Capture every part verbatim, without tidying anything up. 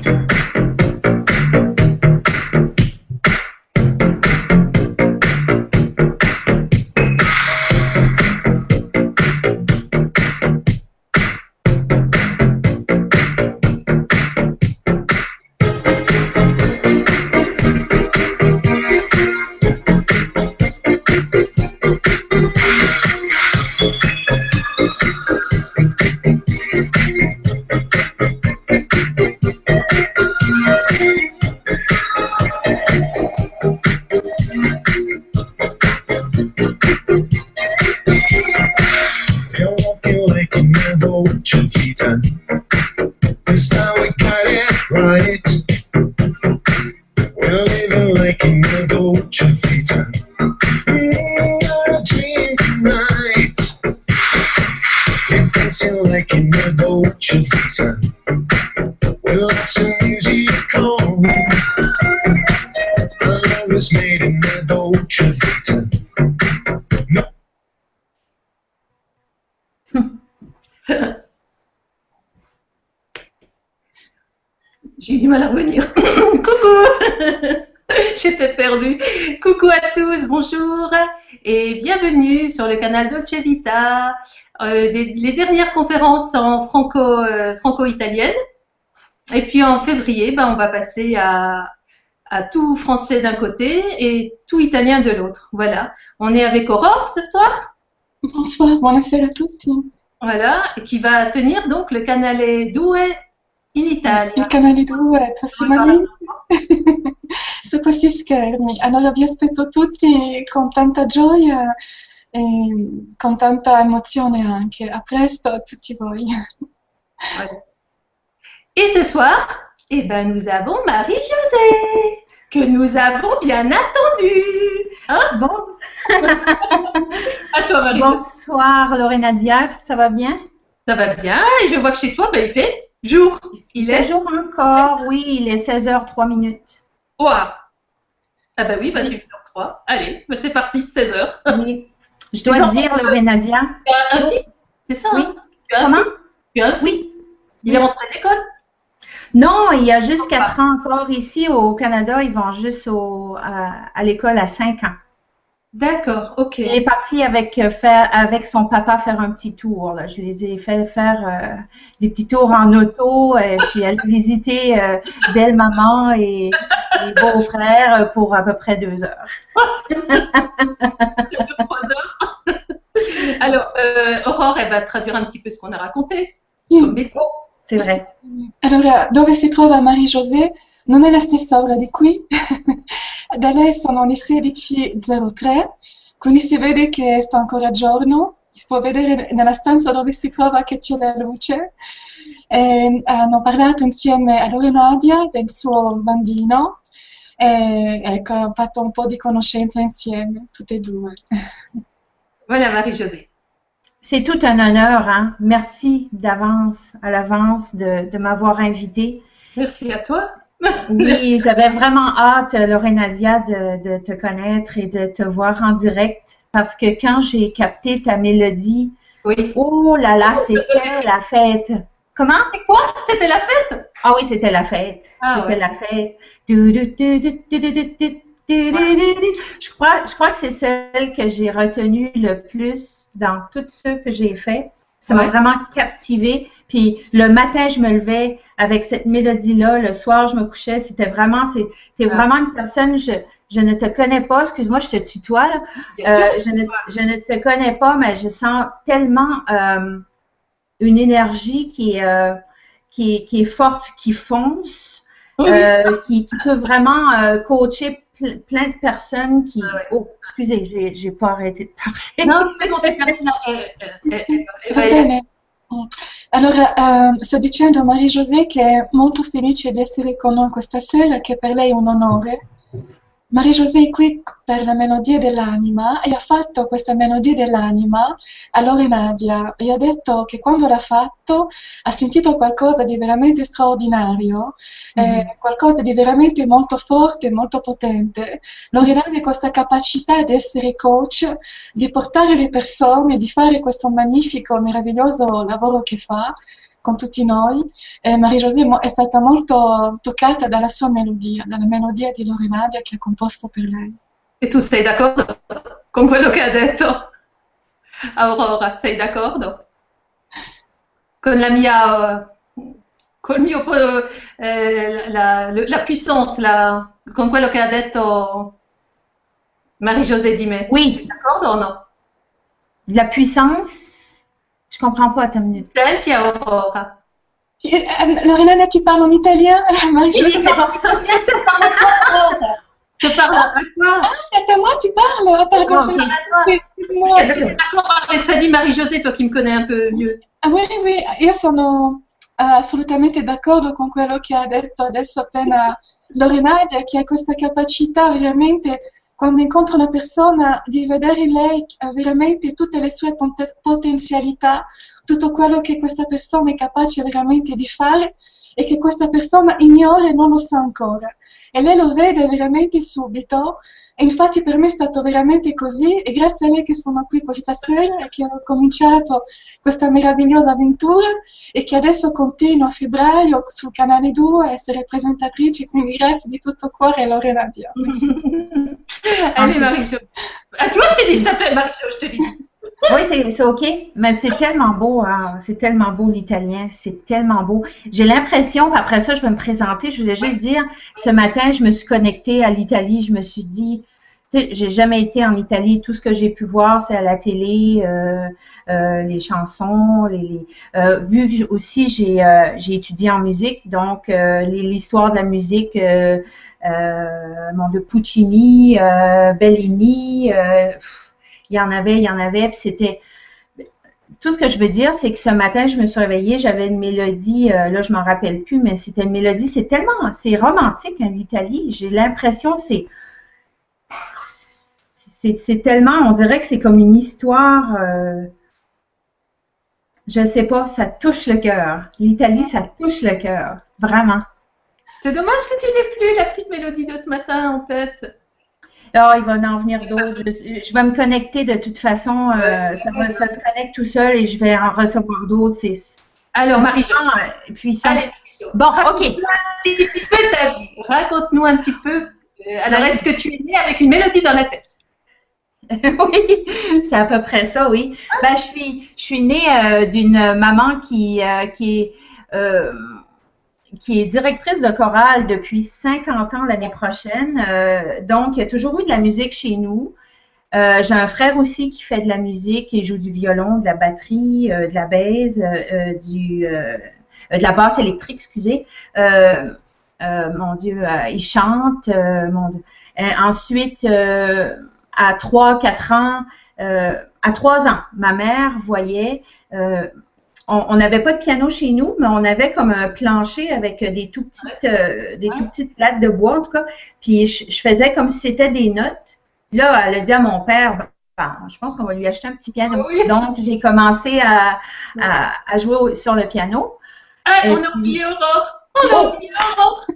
J'ai eu du mal à revenir. Coucou. J'étais perdue. Coucou à tous, bonjour et bienvenue sur le canal Dolce Vita, euh, des, les dernières conférences en franco, euh, franco-italienne. Et puis en février, ben, on va passer à, à tout français d'un côté et tout italien de l'autre. Voilà. On est avec Aurore ce soir. Bonsoir, buonasera a tutti. Voilà, et qui va tenir donc le canale due in Italia. Il canale due prossimamente su questi schermi. Allora vi aspetto tutti con tanta gioia e con tanta emozione anche. A presto a tutti voi. Voilà. Et ce soir, eh ben, nous avons Marie-Josée, que nous avons bien attendue. Hein? Bon. À toi, Marie-Josée. Bonsoir, Lorenadia, ça va bien? Ça va bien, et je vois que chez toi, ben, il fait jour. Il est jour encore, oui, il est seize heures trois minutes. Ouah. Ah bah oui, vingt et une heures trois. Allez, ben, c'est parti, seize heures. Oui. Je dois te dire, Lorenadia. Tu as un fils, c'est ça? Oui. Hein? Tu as un Comment? fils? Tu as un fils? Oui. Il est rentré à l'école? Non, il y a juste quatre ans encore ici au Canada. Ils vont juste au, à, à l'école à cinq ans. D'accord, ok. Il est parti avec, faire, avec son papa faire un petit tour. Là. Je les ai fait faire euh, des petits tours en auto et puis aller visiter euh, belle-maman et, et beau-frère pour à peu près deux heures. Trois heures. Alors, euh, Aurore, elle va traduire un petit peu ce qu'on a raconté. Sì. C'est vrai. Allora, dove si trova Marie-Josée non è la stessa ora di qui. Da lei sono le sedici e zero tre, quindi si vede che fa ancora giorno. Si può vedere nella stanza dove si trova che c'è la luce. E hanno parlato insieme a Lorenadia del suo bambino e ecco, hanno fatto un po' di conoscenza insieme, tutte e due. Voilà, Marie-Josée. C'est tout un honneur, hein. Merci d'avance, à l'avance, de, de m'avoir invitée. Merci à toi. Oui, j'avais vraiment hâte, Lorenadia, de, de te connaître et de te voir en direct parce que quand j'ai capté ta mélodie, oui. Oh là là, c'était la fête. Comment? C'est quoi? C'était la fête? Ah oui, c'était la fête. Ah, c'était ouais. la fête. Du, du, du, du, du, du, du, du. Je crois, je crois que c'est celle que j'ai retenue le plus dans tous ceux que j'ai fait. Ça m'a ouais. vraiment captivée. Puis le matin, je me levais avec cette mélodie-là. Le soir, je me couchais. C'était vraiment, c'est, t'es ah. vraiment une personne. Je, je ne te connais pas. Excuse-moi, je te tutoie là. Euh, je ne, je ne te connais pas, mais je sens tellement euh, une énergie qui est, euh, qui est, qui est forte, qui fonce, oui, euh, qui, qui peut vraiment euh, coacher plein de personnes qui... Ah ouais. Oh, excusez, j'ai, j'ai pas arrêté de parler. Non, c'est bon, termina. Allora, uh, sto dicendo a Marie-Josée che è molto felice di essere con noi questa sera, che per lei è un onore. Marie-Josée è qui per la melodia dell'anima e ha fatto questa melodia dell'anima a Lorenadia e ha detto che quando l'ha fatto ha sentito qualcosa di veramente straordinario, mm-hmm. eh, qualcosa di veramente molto forte, molto potente. Lorenadia ha questa capacità di essere coach, di portare le persone, di fare questo magnifico, meraviglioso lavoro che fa, con tutti noi. E Marie-José è stata molto toccata dalla sua melodia, dalla melodia di Lorenadia che ha composto per lei. E tu sei d'accordo con quello che ha detto Aurora? Sei d'accordo? Con la mia... Col mio, eh, la, la, la puissance, la, con quello che ha detto Marie-José Dimé. Oui. D'accord ou non? La puissance, je comprends pas ta minute. Senti Aurora. Eh, Lorenadia, tu parles en italien? Marie-José, Oui, c'est pour ça. Je parle à toi. Ah, c'est à moi, tu parles. Ah, pardon, Oh, je... ok. Moi, Est-ce que tu es d'accord avec ça dit Marie-José, toi qui me connais un peu mieux? Ah, oui, oui, io sono assolutamente d'accordo con quello che ha detto adesso appena Lorenadia, che ha questa capacità veramente, quando incontra una persona, di vedere in lei veramente tutte le sue pot- potenzialità, tutto quello che questa persona è capace veramente di fare e che questa persona ignora e non lo sa ancora. E lei lo vede veramente subito, e infatti per me è stato veramente così, e grazie a lei che sono qui questa sera e che ho cominciato questa meravigliosa avventura e che adesso continuo a febbraio sul canale due a essere presentatrice, quindi grazie di tutto cuore Lorenadia. Allez Marie-Jo. Ah, tu vois, je t'ai dit, je t'appelle Marie-Jo, je te l'ai dit. Oui, c'est c'est OK, mais c'est tellement beau, hein, c'est tellement beau l'italien, c'est tellement beau. J'ai l'impression, après ça, je vais me présenter, je voulais juste dire, ce matin, je me suis connectée à l'Italie, je me suis dit, tu sais, j'ai jamais été en Italie, tout ce que j'ai pu voir, c'est à la télé, euh, euh, les chansons, les, les euh, vu que j'- aussi j'ai euh, j'ai étudié en musique, donc euh, les- l'histoire de la musique, euh, euh, mon de Puccini, euh, Bellini, euh, pff, il y en avait, il y en avait, puis c'était tout ce que je veux dire, c'est que ce matin, je me suis réveillée, j'avais une mélodie, euh, là, je m'en rappelle plus, mais c'était une mélodie, c'est tellement, c'est romantique, hein, l'Italie. J'ai l'impression, c'est, c'est, c'est tellement, on dirait que c'est comme une histoire, euh, je sais pas, ça touche le cœur. L'Italie, ça touche le cœur, vraiment. C'est dommage que tu n'aies plus la petite mélodie de ce matin en tête. Oh, il va en venir d'autres. Je, je vais me connecter de toute façon, euh, ça va, ça se connecte tout seul et je vais en recevoir d'autres. C'est Alors Marie-Jo, puissant, euh, puissant. allez Marie-Jo. Bon, Raconte-nous OK. un petit peu ta vie. Raconte-nous un petit peu. euh, alors, est-ce que tu es née avec une mélodie dans la tête? Oui, c'est à peu près ça, oui. Ben, je suis, je suis née euh, d'une maman qui, euh, qui est, euh, qui est directrice de chorale depuis cinquante ans l'année prochaine. Euh, donc, il y a toujours eu de la musique chez nous. Euh, j'ai un frère aussi qui fait de la musique, qui joue du violon, de la batterie, euh, de la basse, euh, euh, du, euh, de la basse électrique, excusez. Euh, euh, mon Dieu, euh, il chante. Euh, mon Dieu. Euh, ensuite, euh, à trois, quatre ans, euh, à trois ans, ma mère voyait, euh, on n'avait pas de piano chez nous, mais on avait comme un plancher avec des tout petites, euh, des tout petites plates de bois en tout cas. Puis je, je faisais comme si c'était des notes. Là, elle a dit à mon père, ben, je pense qu'on va lui acheter un petit piano. Oui. Donc j'ai commencé à, à, à jouer au- sur le piano. Ah, Et on a puis- oublié Aurore. On a oublié Aurore.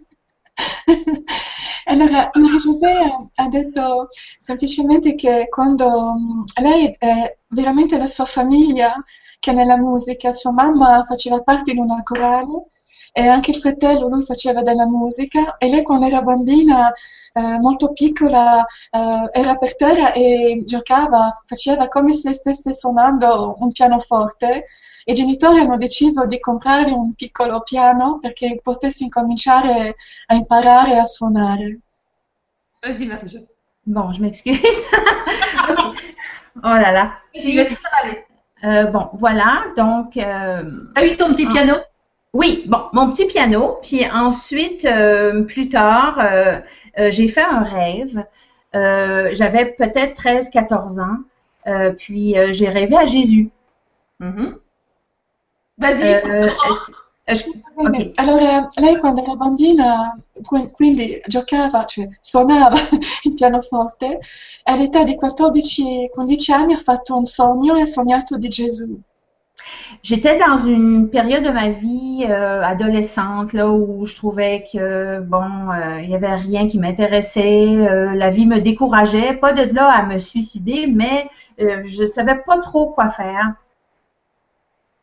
Allora, Marie-José ha detto semplicemente che quando mm, lei è veramente la sua famiglia che è nella musica, sua mamma faceva parte di una corale e anche il fratello, lui faceva della musica e lei quando era bambina, eh, molto piccola, eh, era per terra e giocava, faceva come se stesse suonando un pianoforte. I genitori hanno deciso di comprare un piccolo piano perché potesse incominciare a imparare a suonare. Vas-y Marie-Jo. Bon, je m'excuse. Ok. Oh là là. Vas-y, vas-y, ça va aller. Euh, bon, voilà. Donc, euh, T'as eu ton petit Ah. piano? oui, bon, mon petit piano. Puis ensuite, euh, plus tard, euh, euh, j'ai fait un rêve. Euh, j'avais peut-être treize, quatorze ans. Euh, puis euh, j'ai rêvé à Jésus. Mhm. Vas-y. Euh, est-ce- est-ce que- Bene, ok. allora lei quando era bambina, qui- quindi giocava, cioè suonava il pianoforte, all'età di quattordici quindici anni ha fatto un sogno e ha sognato di Gesù. J'étais dans une période de ma vie euh, adolescente là où je trouvais que bon, euh, il y avait rien qui m'intéressait, euh, la vie me décourageait, pas de là à me suicider, mais euh, je savais pas trop quoi faire.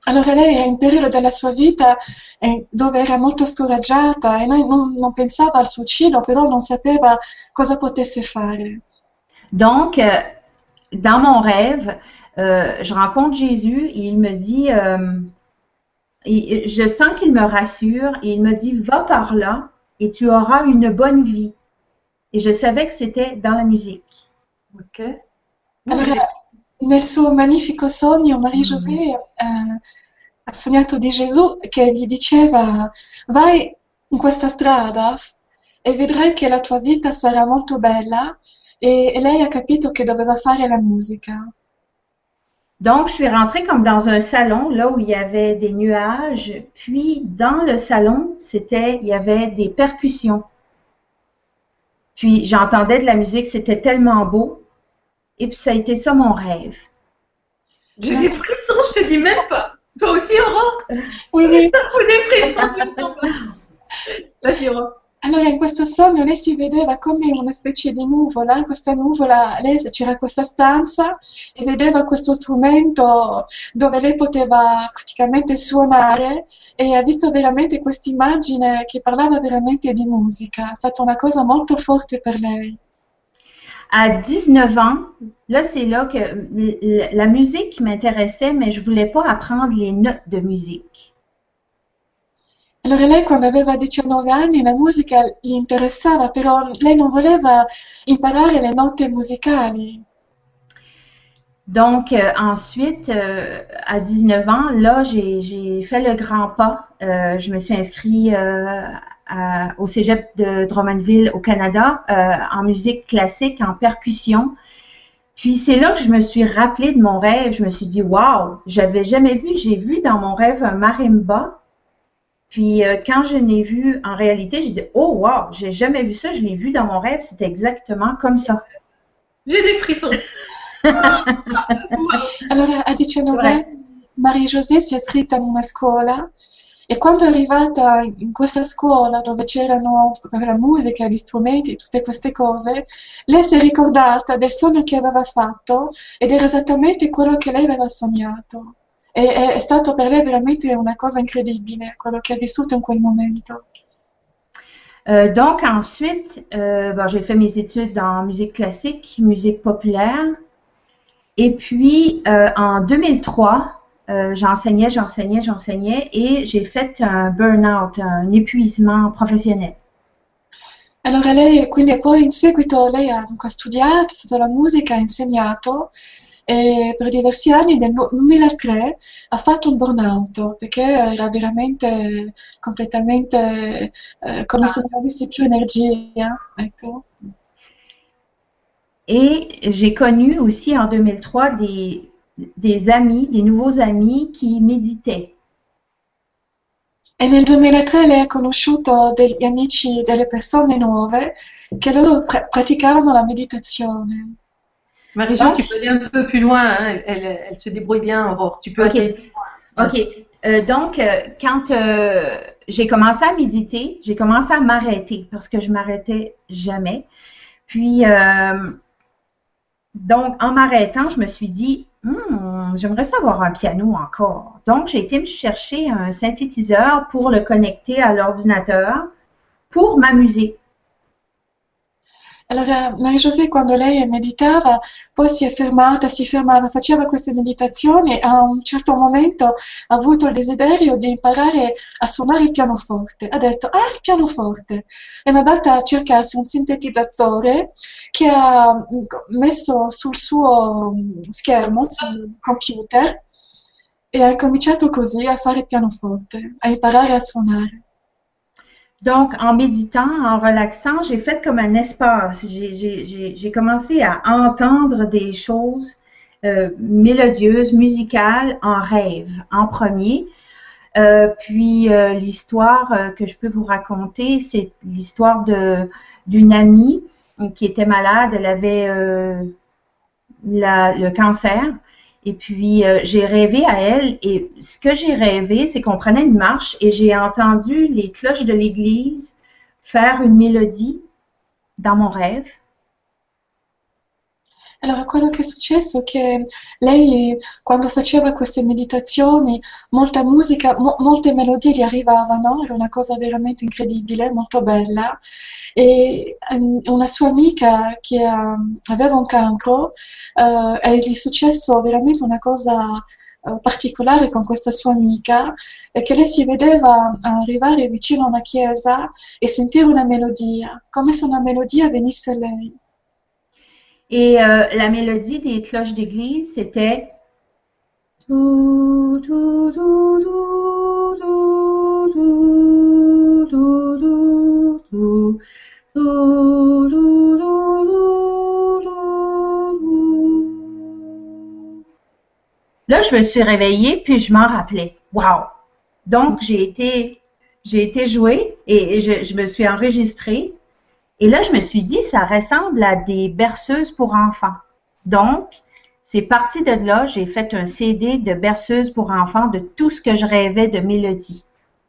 Allora lei era in un periodo della sua vita eh, dove era molto scoraggiata e non, non- non pensava al suicidio, però non sapeva cosa potesse fare. Donc, euh, dans mon rêve, euh, je rencontre Jésus et il me dit, euh, et je sens qu'il me rassure et il me dit, va par là et tu auras une bonne vie. Et je savais que c'était dans la musique. Ok. Allora, nel suo magnifico sogno, Marie-José eh, ha sognato di Gesù che gli diceva: vai in questa strada e vedrai che la tua vita sarà molto bella, e, e lei ha capito che doveva fare la musica. Donc, je suis rentrée comme dans un salon, là où il y avait des nuages. Puis, dans le salon, c'était, il y avait des percussions. Puis, j'entendais de la musique, c'était tellement beau. Et puis, ça a été ça mon rêve. J'ai des frissons, je te dis même pas. Toi aussi, Aurore? Oui, oui. Ou des frissons, tu me sens pas. Vas-y, Aurore. Allora, in questo sogno lei si vedeva come una specie di nuvola, in questa nuvola lei, c'era questa stanza e vedeva questo strumento dove lei poteva praticamente suonare, e ha visto veramente questa immagine che parlava veramente di musica. È stata una cosa molto forte per lei. À dix-neuf ans, là, c'est là que l- la musique m'intéressait, mais je voulais pas apprendre les notes de musique. Allora lei quando aveva diciannove anni la musica gli interessava, però lei non voleva imparare le note musicali. Donc, euh, ensuite, euh, à dix-neuf ans, là, j'ai, j'ai fait le grand pas. Euh, je me suis inscrite euh, à- au Cégep de Drummondville au Canada euh, en musique classique, en percussion. Puis c'est là que je me suis rappelée de mon rêve. Je me suis dit, waouh, j'avais jamais vu, j'ai vu dans mon rêve un marimba. Puis euh, quand je l'ai vu en réalité, j'ai dit, oh wow, j'ai jamais vu ça, je l'ai vu dans mon rêve, c'était exactement comme ça. J'ai des frissons. Allora a diciannove Vai. anni Marie-José si è iscritta in una scuola, e quando è arrivata in questa scuola dove c'erano la musica, gli strumenti, tutte queste cose, lei si è ricordata del sogno che aveva fatto ed era esattamente quello che lei aveva sognato. E è, è stato per lei veramente una cosa incredibile quello che ha vissuto in quel momento. Euh, donc ensuite, euh, bon, j'ai fait mes études en musique classique, musique populaire. Et puis euh, en deux mille trois, euh, j'enseignais, j'enseignais, j'enseignais et j'ai fait un burn-out, un épuisement professionnel. Allora lei, quindi poi in seguito lei ha comunque studiato, ha fatto la musica, ha insegnato, e per diversi anni nel duemilatré ha fatto un burnout perché era veramente completamente eh, come se non avesse più energia, ecco. Et j'ai connu aussi en deux mille trois des, des amis, des nouveaux amis qui méditaient. E nel duemilatré lei ha conosciuto degli amici, delle persone nuove che loro pra- praticavano la meditazione. Marie-Jo, tu peux aller un peu plus loin, hein. Elle, elle, elle se débrouille bien, Aurore. Tu peux Ok. aller plus loin. OK. Euh, donc, euh, quand euh, j'ai commencé à méditer, j'ai commencé à m'arrêter parce que je m'arrêtais jamais. Puis, euh, donc, en m'arrêtant, je me suis dit, Hmm, j'aimerais savoir un piano encore. Donc, j'ai été me chercher un synthétiseur pour le connecter à l'ordinateur pour m'amuser. Allora, Marie-José quando lei meditava, poi si è fermata, si fermava, faceva queste meditazioni, e a un certo momento ha avuto il desiderio di imparare a suonare il pianoforte. Ha detto, ah, il pianoforte! E è andata a cercarsi un sintetizzatore che ha messo sul suo schermo, sul computer, e ha cominciato così a fare il pianoforte, a imparare a suonare. Donc, en méditant, en relaxant, j'ai fait comme un espace. J'ai, j'ai, j'ai, j'ai commencé à entendre des choses euh, mélodieuses, musicales, en rêve, en premier. Euh, puis, euh, l'histoire euh, que je peux vous raconter, c'est l'histoire de, d'une amie qui était malade. Elle avait euh, la, le cancer. Et puis, euh, j'ai rêvé à elle, et ce que j'ai rêvé, c'est qu'on prenait une marche et j'ai entendu les cloches de l'église faire une mélodie dans mon rêve. Allora, quello che è successo è che lei, quando faceva queste meditazioni, molta musica, mo- molte melodie gli arrivavano, era una cosa veramente incredibile, molto bella. E ehm, una sua amica che ha- aveva un cancro, eh, e gli è successo veramente una cosa eh, particolare con questa sua amica, è che lei si vedeva arrivare vicino a una chiesa e sentire una melodia, come se una melodia venisse a lei. Et euh, la mélodie des cloches d'église, c'était Dou, dou, dou, dou, dou, dou, dou, dou, dou, dou, dou, dou, dou, dou. Là, je me suis réveillée, puis je m'en rappelais. Wow! Donc, j'ai été, j'ai été jouée et je, je me suis enregistrée. Et là, je me suis dit, ça ressemble à des berceuses pour enfants. Donc, c'est parti de là, j'ai fait un C D de berceuses pour enfants de tout ce que je rêvais de mélodie.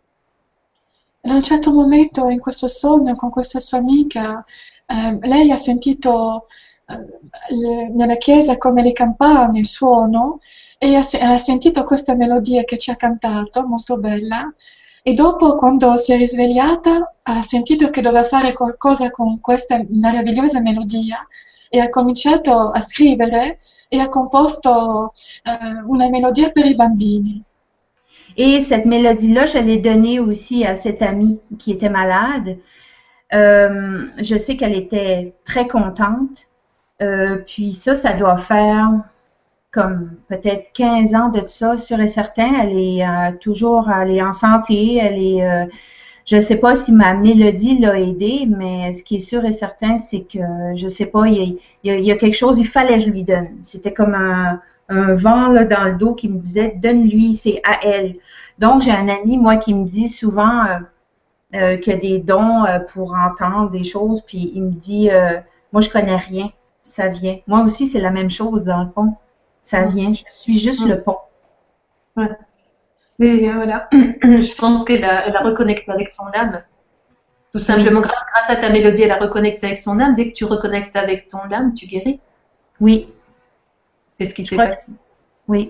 A un certo momento in questo sogno con questa sua amica, eh, lei ha sentito eh, le- nella chiesa come le campane, il suono, e ha, se- ha sentito questa melodia che ci ha cantato, molto bella, e dopo, quando si è risvegliata, ha sentito che doveva fare qualcosa con questa meravigliosa melodia e ha cominciato a scrivere e ha composto eh, una melodia per i bambini. Et cette mélodie-là, je l'ai donnée aussi à cette amie qui était malade. Euh, je sais qu'elle était très contente. Euh, puis ça, ça doit faire comme peut-être quinze ans de ça, sûr et certain. Elle est euh, toujours, elle est en santé. Elle est, euh, je sais pas si ma mélodie l'a aidée, mais ce qui est sûr et certain, c'est que je sais pas, il y a, il y a, il y a quelque chose, il fallait que je lui donne. C'était comme un, un vent là, dans le dos qui me disait, donne-lui, c'est à elle. Donc, j'ai un ami, moi, qui me dit souvent euh, euh, qu'il y a des dons euh, pour entendre des choses, puis il me dit, euh, moi, je connais rien, ça vient. Moi aussi, c'est la même chose, dans le fond. Ça vient, je suis juste Mm. le pont. Ouais. Mais euh, voilà, je pense qu'elle a, elle a reconnecté avec son âme. Tout simplement, grâce, grâce à ta mélodie, elle a reconnecté avec son âme. Dès que tu reconnectes avec ton âme, tu guéris. Oui, C'est ce qui je s'est crois que- passé. oui.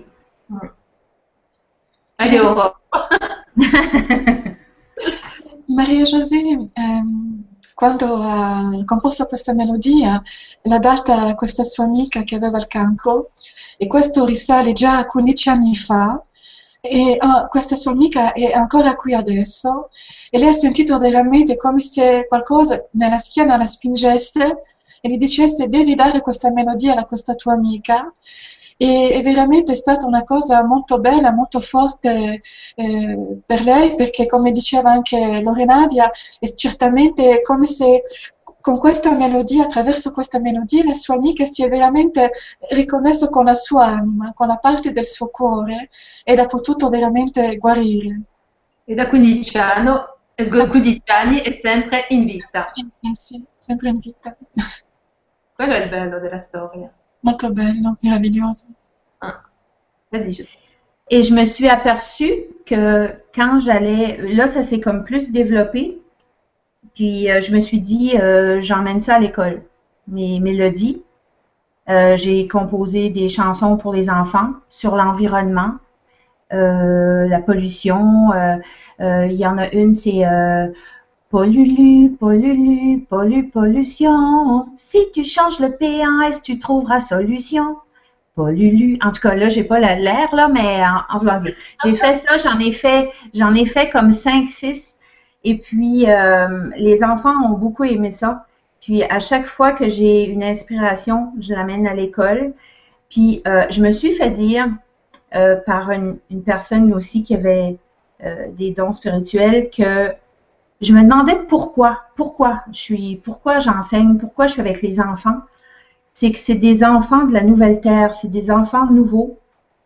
Allez, au revoir. Maria José, ehm, quando ha composto questa melodia, l'ha data a questa sua amica che aveva il cancro, e questo risale già a quindici anni fa, e ah, questa sua amica è ancora qui adesso, e lei ha sentito veramente come se qualcosa nella schiena la spingesse e gli dicesse devi dare questa melodia a questa tua amica. E è veramente stata una cosa molto bella, molto forte eh, per lei, perché come diceva anche Lorenadia, è certamente come se con questa melodia, attraverso questa melodia, la sua amica si è veramente riconnesso con la sua anima, con la parte del suo cuore, ed ha potuto veramente guarire. E da quindici anni, eh, quindici anni è sempre in vita. Sì, sì, sempre in vita. Quello è il bello della storia. Molto bello, meraviglioso. Ah. Vas-y, je sais. Et je me suis aperçue que quand j'allais, là, ça s'est comme plus développé. Puis euh, je me suis dit, euh, j'emmène ça à l'école, mes mélodies. Euh, j'ai composé des chansons pour les enfants sur l'environnement, euh, la pollution. euh, euh, Il y en a une, c'est euh, Pollulu, pollulu, pollu, pollution. Si tu changes le P en S, tu trouveras solution. Pollulu. En tout cas, là, j'ai pas la- l'air, là, mais en, en voulant dire. J'ai fait ça, j'en ai fait, j'en ai fait comme cinq, six. Et puis, euh, les enfants ont beaucoup aimé ça. Puis, à chaque fois que j'ai une inspiration, je l'amène à l'école. Puis, euh, je me suis fait dire euh, par une, une personne aussi qui avait euh, des dons spirituels que je me demandais pourquoi, pourquoi je suis, pourquoi j'enseigne, pourquoi je suis avec les enfants. C'est que c'est des enfants de la nouvelle terre, c'est des enfants nouveaux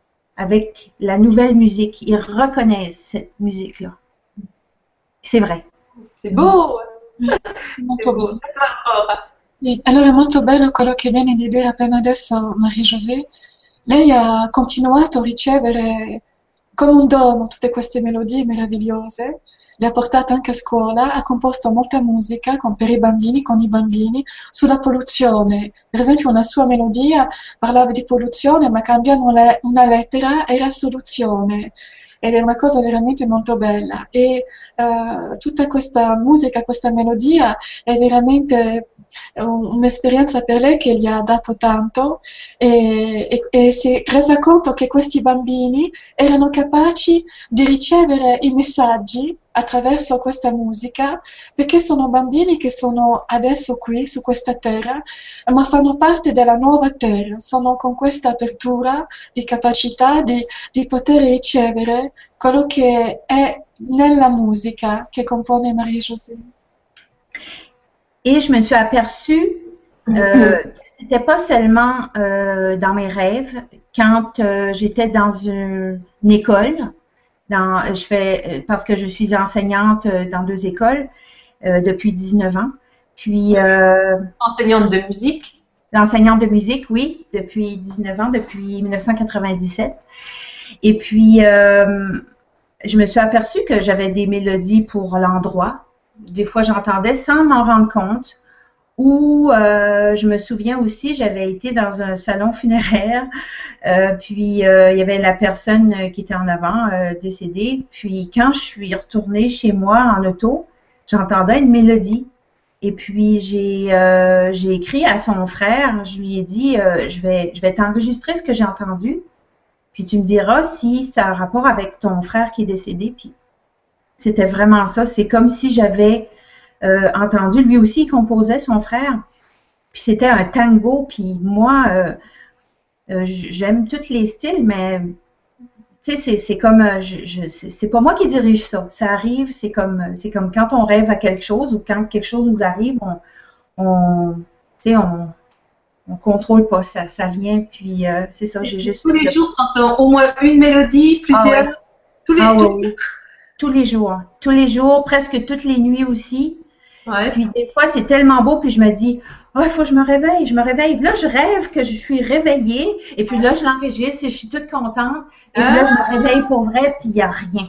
avec la nouvelle musique. Ils reconnaissent cette musique-là. C'est vrai. C'est beau! Molto C'est beau. bello. À toi, Aurora. Sì, allora è molto bello quello che viene di dire appena adesso Marie José. Lei ha continuato a ricevere come un dono tutte queste melodie meravigliose le ha portate anche a scuola, ha composto molta musica con, per i bambini, con i bambini, sulla polluzione. Per esempio una sua melodia parlava di polluzione, ma cambiando una, una lettera era soluzione. Ed è una cosa veramente molto bella. E uh, tutta questa musica, questa melodia è veramente un'esperienza per lei che gli ha dato tanto e, e, e si è resa conto che questi bambini erano capaci di ricevere i messaggi attraverso questa musica, perché sono bambini che sono adesso qui su questa terra, ma fanno parte della nuova terra, sono con questa apertura di capacità di, di poter ricevere quello che è nella musica che compone Marie-Josée. Et je me suis aperçue euh, que c'était pas seulement euh, dans mes rêves. Quand euh, j'étais dans une, une école, dans, je fais parce que je suis enseignante dans deux écoles euh, depuis dix-neuf ans. Puis euh, enseignante de musique. L'enseignante de musique, oui, depuis dix-neuf ans, depuis mille neuf cent quatre-vingt-dix-sept. Et puis euh, je me suis aperçue que j'avais des mélodies pour l'endroit. Des fois, j'entendais sans m'en rendre compte. Ou euh, je me souviens aussi, j'avais été dans un salon funéraire, euh, puis euh, il y avait la personne qui était en avant, euh, décédée. Puis quand je suis retournée chez moi en auto, j'entendais une mélodie. Et puis j'ai euh, j'ai écrit à son frère, je lui ai dit, euh, je vais je vais t'enregistrer ce que j'ai entendu. Puis tu me diras si ça a rapport avec ton frère qui est décédé. Puis c'était vraiment ça. C'est comme si j'avais euh, entendu, lui aussi, il composait son frère. Puis c'était un tango. Puis moi, euh, euh, j'aime tous les styles, mais tu sais, c'est comme, je, je, c'est pas moi qui dirige ça. Ça arrive, c'est comme, c'est comme quand on rêve à quelque chose ou quand quelque chose nous arrive, on, on tu sais, on, on contrôle pas ça, ça vient. Puis euh, c'est ça. J'ai juste tous les jours, t'entends au moins une mélodie, plusieurs. Ah ouais. Tous les ah jours. Ouais. Tous les jours. Tous les jours, presque toutes les nuits aussi. Ouais. Puis des fois, c'est tellement beau, puis je me dis, oh, il faut que je me réveille, je me réveille. Là, je rêve que je suis réveillée, et puis là, je l'enregistre et je suis toute contente. Et puis là, je me réveille pour vrai, puis il n'y a rien.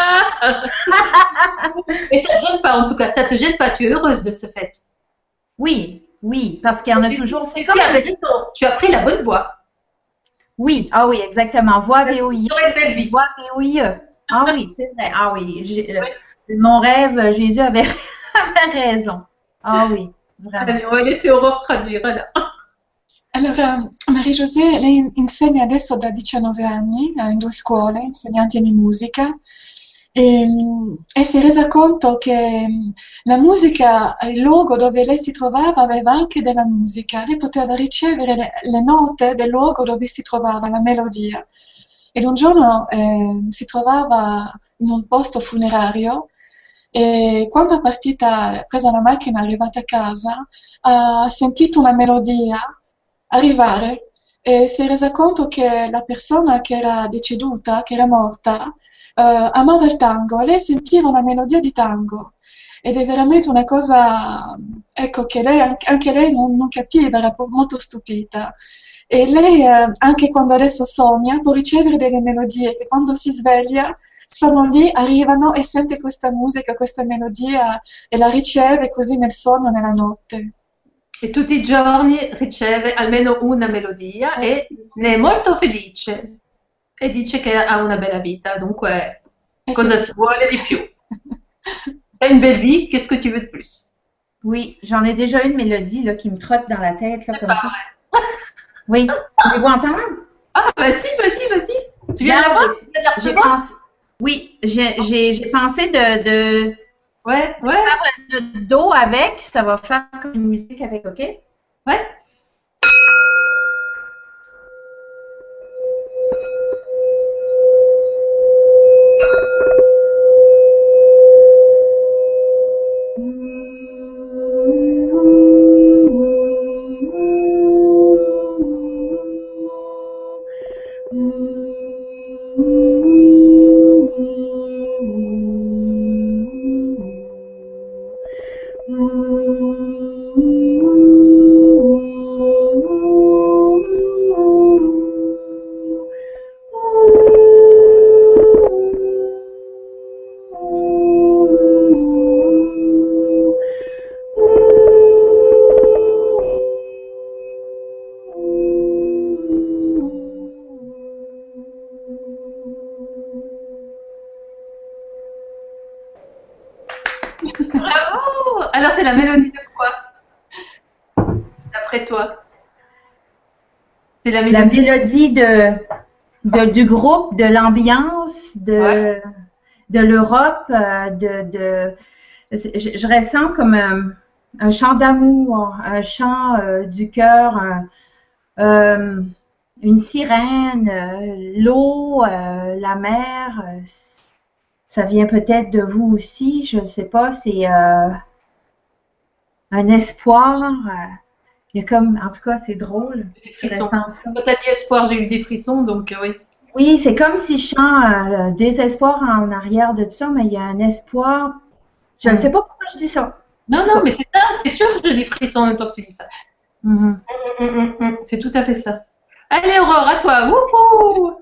Mais ça te gêne pas, en tout cas, ça te gêne pas, tu es heureuse de ce fait. Oui, oui, parce qu'il y en a toujours. C'est comme avec raison, tu as pris la bonne voie. Oui, ah oui, exactement. Voix V O I E. Tu aurais une belle vie. Voix V O I E. Ah oui, c'est vrai. Ah oui, j'ai, oui. Mon rêve, Jésus avait, avait raison. Ah oui, vraiment. Allez, on va laisser Aurore traduire, là. Allora, Marie-Josée, lei insegna adesso da diciannove anni in due scuole, insegnante di musica, e, e si è resa conto che la musica, il luogo dove lei si trovava aveva anche della musica, lei poteva ricevere le, le note del luogo dove si trovava, la melodia. Ed un giorno eh, si trovava in un posto funerario e quando è partita, ha preso la macchina, è arrivata a casa, ha sentito una melodia arrivare e si è resa conto che la persona che era deceduta, che era morta, eh, amava il tango e lei sentiva una melodia di tango. Ed è veramente una cosa, ecco, che lei, anche lei non, non capiva, era molto stupita. E lei, eh, anche quando adesso sogna, può ricevere delle melodie che quando si sveglia sono lì, arrivano e sente questa musica, questa melodia e la riceve così nel sonno, nella notte. E tutti i giorni riceve almeno una melodia e ne è molto felice e dice che ha una bella vita, dunque cosa si vuole di più? T'as une belle vie, qu'est-ce que tu veux de plus? Oui, j'en ai déjà une mélodie là, qui me trotte dans la tête là, C'est comme pas ça. vrai. Oui, voulez-vous entendre? Ah, vas-y, vas-y, vas-y. Tu viens Là, d'avoir? j'ai- Tu viens de la j'ai recevoir? pensé- Oui, j'ai j'ai- j'ai pensé de, de Ouais, ouais, faire le do avec, ça va faire comme une musique avec, OK? ouais. Bravo! Alors, c'est la mélodie de quoi, d'après toi? C'est la La mélodie. mélodie de, de, du groupe, de l'ambiance, de, Ouais. de l'Europe, euh, de, de, je, je ressens comme un, un chant d'amour, un chant euh, du cœur, un- euh, une sirène, euh, l'eau, euh, la mer. euh, ça vient peut-être de vous aussi, je ne sais pas. C'est euh, un espoir. euh, il y a comme, en tout cas, c'est drôle. Des Je frissons. ressens ça. Quand t'as dit espoir, j'ai eu des frissons, donc euh, oui. Oui, c'est comme si je chante euh, désespoir en arrière de tout ça, mais il y a un espoir. Je ne Mm. sais pas pourquoi je dis ça. Non, non, mais c'est ça, c'est sûr que j'ai des frissons en même temps que tu dis ça. Mhm. Mm, mm, mm, C'est tout à fait ça. Allez, Aurore, à toi. Wouhou!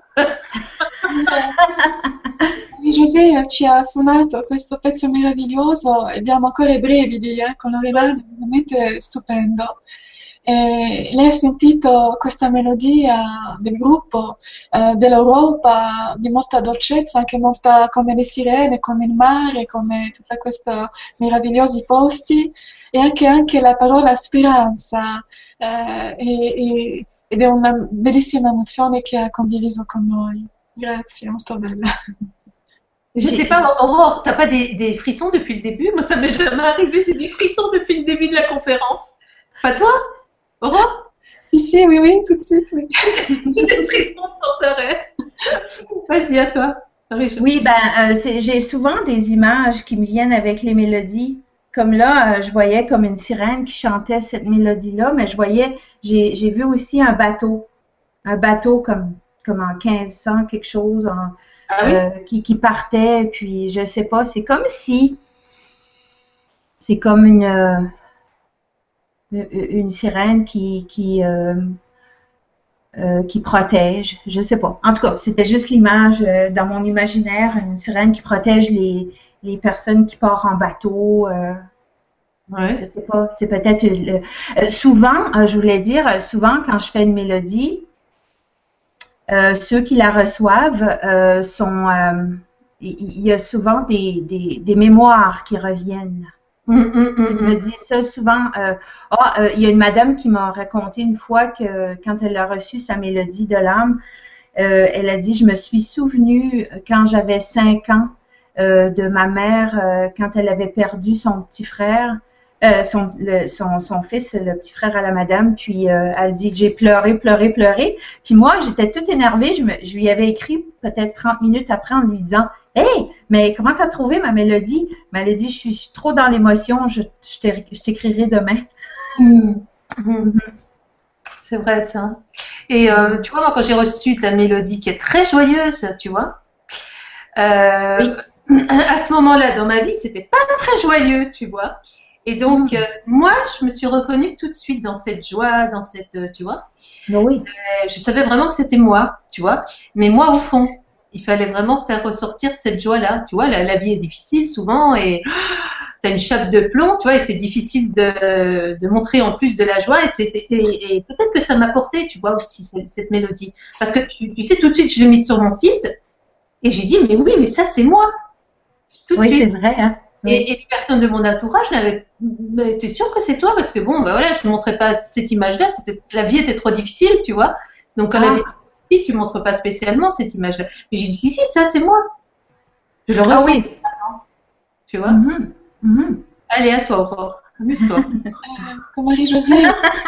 Marie-José ci ha suonato questo pezzo meraviglioso e abbiamo ancora i brividi, eh, con Loredana, veramente stupendo. E lei ha sentito questa melodia del gruppo, eh, dell'Europa, di molta dolcezza, anche molta come le sirene, come il mare, come tutti questi meravigliosi posti, e anche, anche la parola speranza, eh, e- e- ed è una bellissima emozione che ha condiviso con noi. Grazie, molto bella. Je sais pas, Aurore, t'as pas des, des frissons depuis le début? Moi, ça m'est jamais arrivé, j'ai des frissons depuis le début de la conférence. Pas toi, Aurore? Si, si, oui, oui, tout de suite, oui. Des frissons sans arrêt. Vas-y, à toi. Marie-Jo. Oui, ben, euh, c'est- j'ai souvent des images qui me viennent avec les mélodies. Comme là, euh, je voyais comme une sirène qui chantait cette mélodie-là, mais je voyais, j'ai, j'ai vu aussi un bateau, un bateau comme, comme en quinze cents quelque chose, en, Ah oui? euh, qui, qui partait, puis je sais pas, c'est comme si, c'est comme une, euh, une sirène qui, qui, euh, euh, qui protège, je sais pas. En tout cas, c'était juste l'image euh, dans mon imaginaire, une sirène qui protège les, les personnes qui partent en bateau. Euh, Ouais. je sais pas, c'est peut-être le- euh, souvent, euh, je voulais dire, euh, souvent quand je fais une mélodie, euh, ceux qui la reçoivent euh, sont, euh, il il y a souvent des, des, des mémoires qui reviennent. Hum, hum, hum, Je me hum. dis ça souvent. Euh, ah, euh, il y a une madame qui m'a raconté une fois que quand elle a reçu sa mélodie de l'âme, euh, elle a dit, je me suis souvenue quand j'avais cinq ans euh, de ma mère euh, quand elle avait perdu son petit frère, euh, son, le, son, son fils, le petit frère à la madame. Puis euh, elle dit, j'ai pleuré, pleuré, pleuré. Puis moi, j'étais toute énervée. Je, me, je lui avais écrit peut-être trente minutes après en lui disant, hey, mais comment t'as trouvé ma mélodie? Mais elle a dit, je suis trop dans l'émotion, je, je t'é- je t'écrirai demain. Hum, hum. C'est vrai ça. Et euh, tu vois, moi, quand j'ai reçu ta mélodie qui est très joyeuse, tu vois, euh, à ce moment-là dans ma vie, c'était pas très joyeux, tu vois. Et donc, Mm. euh, moi, je me suis reconnue tout de suite dans cette joie, dans cette, euh, tu vois. Oui. Euh, Je savais vraiment que c'était moi, tu vois. Mais moi, au fond, il fallait vraiment faire ressortir cette joie-là. Tu vois, la, la vie est difficile souvent et tu as une chape de plomb, tu vois, et c'est difficile de, de montrer en plus de la joie. Et, c'était- et, et peut-être que ça m'a porté, tu vois, aussi, cette, cette mélodie. Parce que tu, tu sais, tout de suite, je l'ai mise sur mon site et j'ai dit, mais oui, mais ça, c'est moi. Tout de Oui, c'est suite. vrai, hein? Oui. Et, et les personnes de mon entourage n'avaient, mais t'es sûr que c'est toi? Parce que bon, ben voilà, je ne montrais pas cette image-là, c'était, la vie était trop difficile, tu vois. Donc, quand Ah. la vie est difficile, tu ne montres pas spécialement cette image-là. Mais j'ai dit, si, si, ça, c'est moi. Je le Ah ressens, oui. tu vois. Mhm. Mhm. Allez, à toi, Aurore. Amuse-toi. Eh, con Marie-José,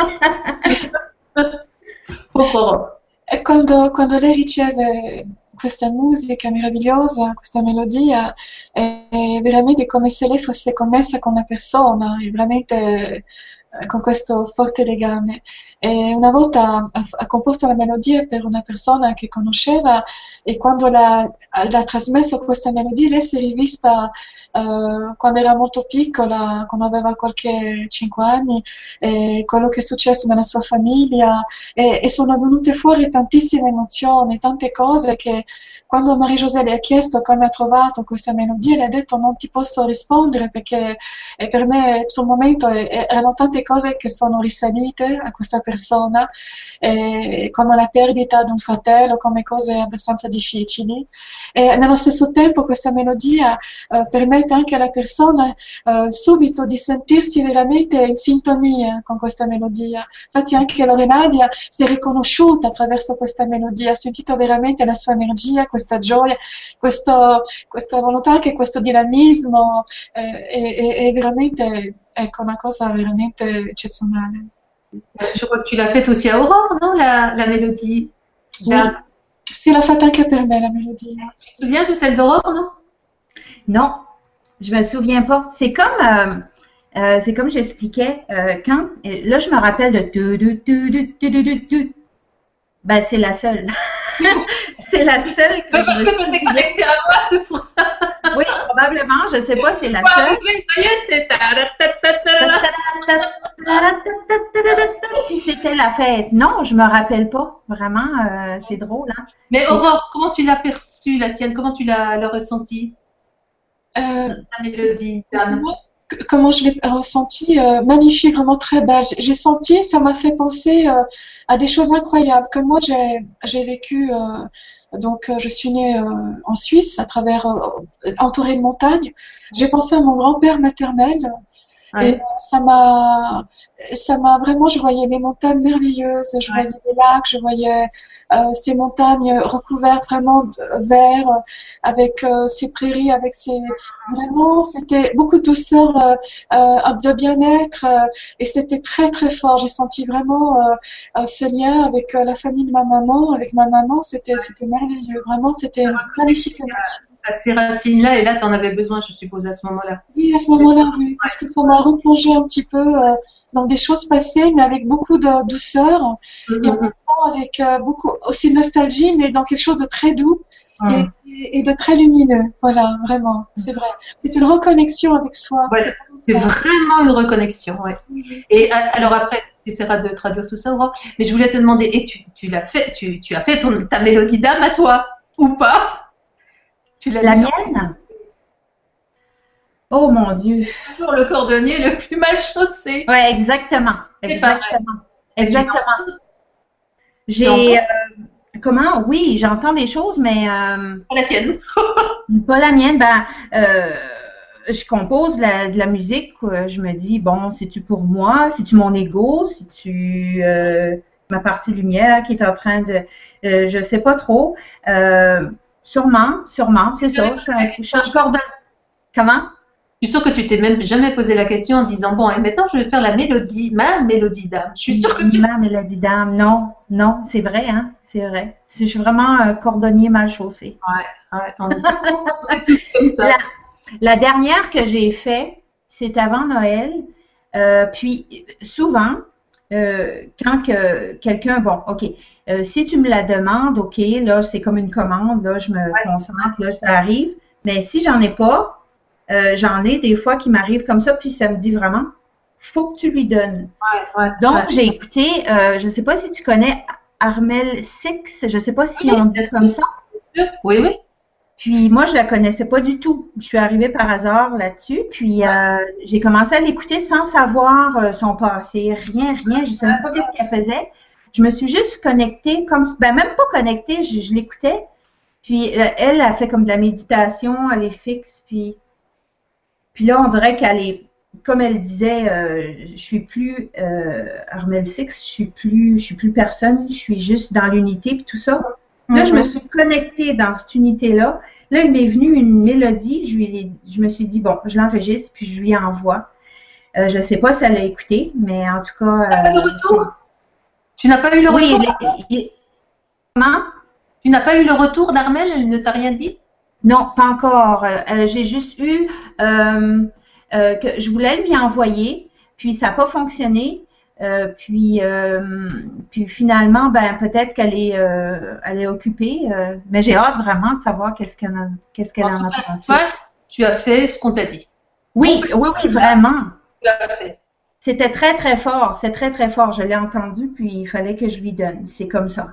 Pauvre Aurore. e quando, quando lei riceve questa musica meravigliosa, questa melodia, è, è veramente come se lei fosse connessa con la persona, è veramente eh, con questo forte legame. E una volta ha, ha composto la melodia per una persona che conosceva e quando l'ha, l'ha trasmesso questa melodia lei si è rivista eh, quando era molto piccola, quando aveva qualche cinque anni, e quello che è successo nella sua famiglia e, e sono venute fuori tantissime emozioni, tante cose che quando Marie-José le ha chiesto come ha trovato questa melodia, le ha detto non ti posso rispondere perché e per me sul momento eh, erano tante cose che sono risalite a questa persona, eh, come la perdita di un fratello, come cose abbastanza difficili. E nello stesso tempo questa melodia eh, per me permette anche alla persona eh, subito di sentirsi veramente in sintonia con questa melodia. Infatti anche Lorenadia si è riconosciuta attraverso questa melodia, ha sentito veramente la sua energia, questa gioia, questo, questa volontà, anche questo dinamismo, eh, è, è, è veramente, ecco, una cosa veramente eccezionale. Je crois que tu l'as faite aussi à Aurore, non, la, la mélodie? Oui. Sì, l'ha fatta anche per me la melodia. Tu te souviens de celle d'Aurore, non? Non, je me souviens pas. C'est comme, euh, euh, c'est comme j'expliquais, euh, quand, là je me rappelle de tu, tu, tu, tu, tu, tu, tu, tu. Ben c'est la seule. C'est la seule que Mais parce je que me tu t'es souviens. connectée à moi, c'est pour ça. Oui, probablement, je sais pas, c'est la Voilà, seule. oui, ça y est, c'est ta-ra-ta-ta-ta-ra. Puis c'était la fête. Non, je me rappelle pas. Vraiment, euh, c'est drôle, hein. Mais C'est- Aurore, comment tu l'as perçue, la tienne? Comment tu l'as l'as ressentie, Euh, ta mélodie d'âme? Moi, c- comment je l'ai ressenti, euh, magnifique, vraiment très belle. J'ai j'ai senti, ça m'a fait penser euh, à des choses incroyables. Comme moi, j'ai j'ai vécu, euh, donc euh, je suis née euh, en Suisse, à travers, euh, entourée de montagnes. J'ai pensé à mon grand-père maternel. Et Ouais. euh, ça m'a, ça m'a vraiment, je voyais des montagnes merveilleuses, je Ouais. voyais des lacs, je voyais euh, ces montagnes recouvertes vraiment de vert, euh, avec euh, ces prairies, avec ces, vraiment, c'était beaucoup de douceur, euh, euh, de bien-être, euh, et c'était très très fort. J'ai senti vraiment euh, euh, ce lien avec euh, la famille de ma maman, avec ma maman, c'était, c'était merveilleux. Vraiment, c'était une magnifique émotion. À ces racines-là, et là, tu en avais besoin, je suppose, à ce moment-là. Oui, à ce moment-là, oui, parce que ça m'a replongé un petit peu euh, dans des choses passées, mais avec beaucoup de douceur et en même temps avec euh, beaucoup aussi de nostalgie, mais dans quelque chose de très doux et, Hum. et- et de très lumineux. Voilà, vraiment, c'est vrai. C'est une reconnexion avec soi. Ouais, C'est c'est vraiment ça. vraiment une reconnexion, ouais. Et euh, alors après, tu essaieras de traduire tout ça, Aurore. Mais je voulais te demander, et tu, tu l'as fait, tu, tu as fait ton, ta mélodie d'âme à toi, ou pas? Tu l'as La mis mienne? Oh mon Dieu. toujours le cordonnier le plus mal chaussé. Ouais, exactement. C'est pas vrai. Exactement. Et tu Exactement. l'entends J'ai, euh, comment? Oui, j'entends des choses, mais euh, pas la tienne. pas la mienne. Ben, euh, je compose la- de la musique. euh, Je me dis, bon, c'est-tu pour moi? C'est-tu mon ego? C'est-tu euh, ma partie lumière qui est en train de... Euh, je sais pas trop. Euh, sûrement, sûrement, c'est ça. Je suis un- je suis encore dans... Comment? Je suis sûre que tu t'es même jamais posé la question en disant, bon, et maintenant je vais faire la mélodie, ma mélodie d'âme. Je suis sûre que tu... Ma mélodie d'âme. Non, non, c'est vrai, hein? C'est vrai. Je suis vraiment un cordonnier mal chaussé. Ouais, on est tous, on est tous comme ça. La, la dernière que j'ai fait, c'est avant Noël. Euh, puis souvent, euh, quand que quelqu'un, bon, ok, euh, si tu me la demandes, ok, là c'est comme une commande, là je me concentre, là ça arrive. Mais si j'en ai pas, euh, j'en ai des fois qui m'arrivent comme ça, puis ça me dit vraiment, faut que tu lui donnes. Ouais, ouais, Donc ouais. j'ai écouté, euh, je sais pas si tu connais Armel Six, je sais pas si Oui, on dit bien comme sûr. ça. Oui, oui. Puis moi, je la connaissais pas du tout. Je suis arrivée par hasard là-dessus. Puis euh, j'ai commencé à l'écouter sans savoir euh, son passé, rien, rien. Je savais pas qu'est-ce qu'elle faisait. Je me suis juste connectée, comme ben même pas connectée, je, je l'écoutais. Puis euh, elle a fait comme de la méditation, elle est fixe. Puis puis là, on dirait qu'elle est, comme elle disait, euh, je suis plus euh, Armel Six, je suis plus, je suis plus personne. Je suis juste dans l'unité puis tout ça. Là, je me suis connectée dans cette unité-là. Là, il m'est venu une mélodie. Je, lui ai- je me suis dit, bon, je l'enregistre, puis je lui envoie. Euh, je ne sais pas si elle a écouté, mais en tout cas... Tu n'as pas eu le euh, retour? Tu n'as pas eu le oui, retour? il- il- comment? Tu n'as pas eu le retour d'Armel? Elle ne t'a rien dit? Non, pas encore. Euh, euh, j'ai juste eu euh, euh, que je voulais lui envoyer, puis ça n'a pas fonctionné. Euh, puis, euh, puis finalement, ben peut-être qu'elle est, euh, elle est occupée, euh, mais j'ai hâte vraiment de savoir qu'est-ce qu'elle, en- qu'est-ce qu'elle en a pensé. Toi, tu as fait ce qu'on t'a dit. Oui, oui, oui, vraiment. Tu l'as fait. C'était très, très fort. C'est très, très fort. Je l'ai entendu, puis il fallait que je lui donne. C'est comme ça.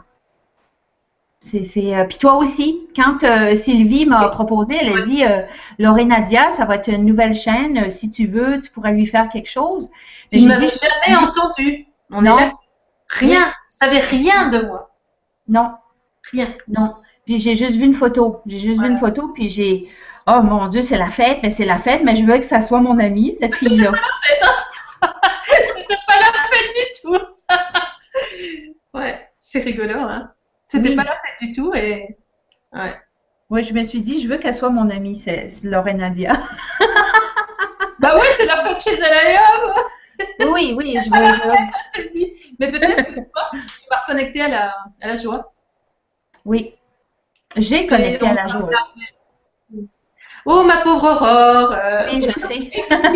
C'est, c'est, euh, puis toi aussi, quand euh, Sylvie m'a proposé, elle a dit euh, Lorenadia, ça va être une nouvelle chaîne. euh, Si tu veux, tu pourrais lui faire quelque chose. Mais Tu ne j'ai m'avais dit jamais entendu. On Non. est là. Rien. Tu savais rien de moi. non, Rien. non. Puis j'ai juste vu une photo. J'ai juste vu une photo, puis j'ai oh mon Dieu, c'est la fête, mais c'est la fête, mais je veux que ça soit mon amie, cette fille-là. C'était pas la fête du tout. Ouais, c'est rigolo, hein. C'était Oui. pas la fête du tout et ouais. Oui, je me suis dit, je veux qu'elle soit mon amie, c'est c'est Laurenadia. Bah ouais, c'est la fête chez Elayam. Oui, oui, je veux. je veux- Je te le dis. Mais peut-être que toi, tu vas reconnecter à la, à la joie. Oui, j'ai connecté Et on à la va- joie. Oh, ma pauvre Aurore. euh, Oui, je sais.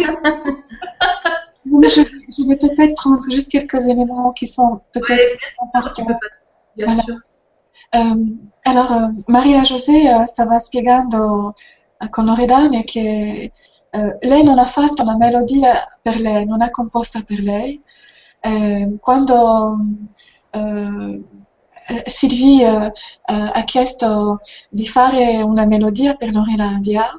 Non, mais je, je vais peut-être prendre juste quelques éléments qui sont peut-être ouais, tu importants. peux pas. Bien Voilà. sûr. Ehm, allora, Maria José eh, stava spiegando eh, con Loredana che eh, lei non ha fatto una melodia per lei, non ha composta per lei. Eh, quando eh, eh, Sylvie eh, eh, ha chiesto di fare una melodia per Lorenadia,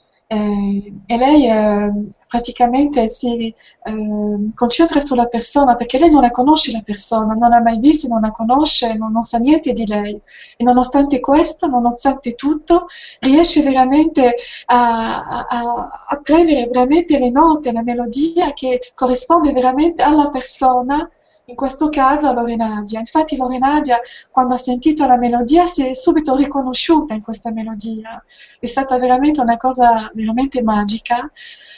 eh, e lei eh, praticamente si eh, concentra sulla persona perché lei non la conosce la persona, non l'ha mai vista, non la conosce, non, non sa niente di lei e nonostante questo, nonostante tutto, riesce veramente a, a, a prendere veramente le note, la melodia che corrisponde veramente alla persona, in questo caso a Lorenadia. Infatti Lorenadia quando ha sentito la melodia si è subito riconosciuta in questa melodia, è stata veramente una cosa veramente magica.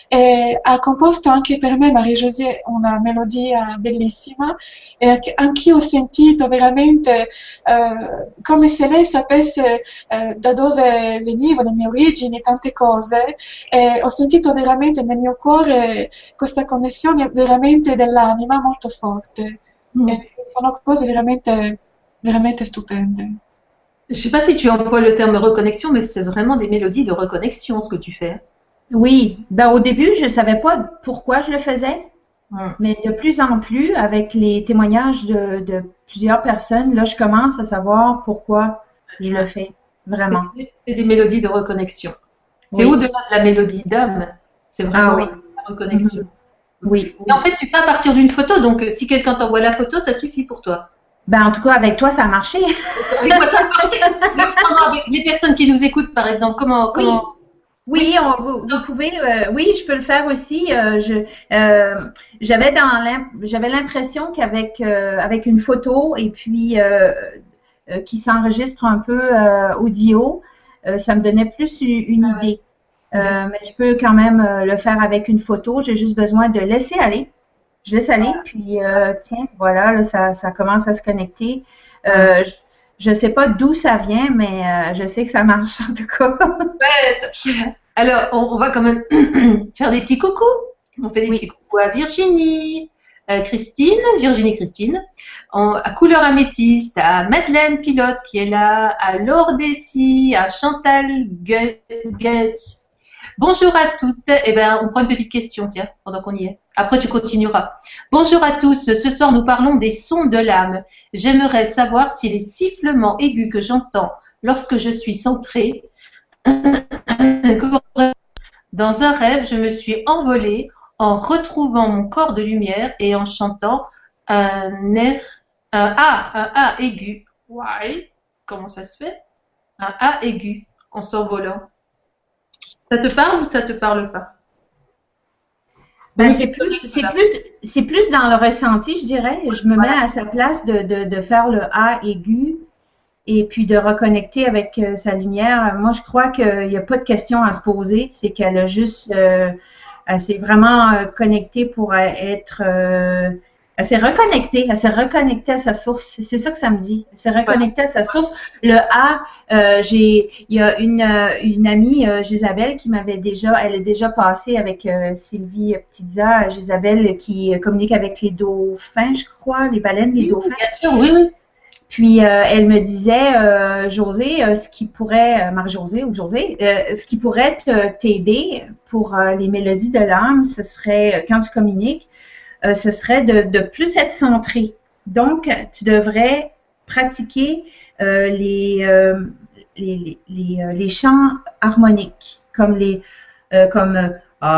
E ha composto anche per me, Marie-José, una melodia bellissima e che anch'io ho sentito veramente eh, come se lei sapesse eh, da dove venivo, le mie origini, tante cose, e ho sentito veramente nel mio cuore questa connessione veramente dell'anima molto forte. Mm. E sono cose veramente, veramente stupende. Je sais pas si tu emploies le terme reconnexion, mais c'est vraiment des mélodies de reconnexion ce que tu fais. Oui, ben au début, je savais pas pourquoi je le faisais, Mm. mais de plus en plus, avec les témoignages de, de plusieurs personnes, là, je commence à savoir pourquoi je le fais, vraiment. C'est c'est des mélodies de reconnexion. C'est Oui. au-delà de la mélodie d'âme, c'est vraiment Ah oui. la reconnexion. Oui. Et en fait, tu fais à partir d'une photo, donc euh, si quelqu'un t'envoie la photo, ça suffit pour toi. Ben, en tout cas, avec toi, ça a marché. Avec moi, ça marche. Mais autrement, avec les personnes qui nous écoutent, par exemple, comment, comment... Oui, on, vous, vous pouvez. Euh, oui, je peux le faire aussi. Euh, je, euh, j'avais dans l'im- j'avais l'impression qu'avec euh, avec une photo et puis euh, euh, qui s'enregistre un peu euh, audio, euh, ça me donnait plus une, une Ah ouais. idée. Euh, mais je peux quand même euh, le faire avec une photo. J'ai juste besoin de laisser aller. Je laisse aller, puis euh, tiens, voilà, là, ça, ça commence à se connecter. Euh, je, je sais pas d'où ça vient, mais euh, je sais que ça marche en tout cas. Ouais. Alors, on, on va quand même faire des petits coucous. On fait des Oui. petits coucous à Virginie, euh, Christine, Virginie Christine, en- à Couleur Améthyste, à Madeleine Pilote qui est là, à Laure Dessy, à Chantal Gue- Goetz. Bonjour à toutes. Eh ben, on prend une petite question, tiens, pendant qu'on y est. Après, tu continueras. Bonjour à tous. Ce soir, nous parlons des sons de l'âme. J'aimerais savoir si les sifflements aigus que j'entends lorsque je suis centrée, dans un rêve, je me suis envolée en retrouvant mon corps de lumière et en chantant un air, un A, un A aigu. Why? Comment ça se fait? Un A aigu en s'envolant. Ça te parle ou ça te parle pas? Ben, Donc, c'est tu peux plus, dire c'est ça. plus, c'est plus dans le ressenti, je dirais. Je me mets à sa place de, de, de faire le A aigu et puis de reconnecter avec euh, sa lumière. Moi, je crois qu'il n'y a pas de question à se poser. C'est qu'elle a juste, euh, elle s'est vraiment euh, connectée pour euh, être, euh, elle s'est reconnectée, elle s'est reconnectée à sa source. C'est ça que ça me dit. Elle s'est reconnectée à sa source. Le A, euh, j'ai, il y a une, euh, une amie, euh, Gisabelle, qui m'avait déjà, elle est déjà passée avec euh, Sylvie Petitza, Gisabelle, qui euh, communique avec les dauphins, je crois, les baleines, les Oui, dauphins. bien sûr, oui, oui. Puis euh, elle me disait, euh, José, euh, ce qui pourrait, euh, Marie-Josée ou José, euh, ce qui pourrait te- t'aider pour euh, les mélodies de l'âme, ce serait, euh, quand tu communiques, euh, ce serait de, de plus être centré. Donc, tu devrais pratiquer euh, les, euh, les, les, les, euh, les chants harmoniques, comme les, euh, comme euh,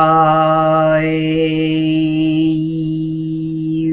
I,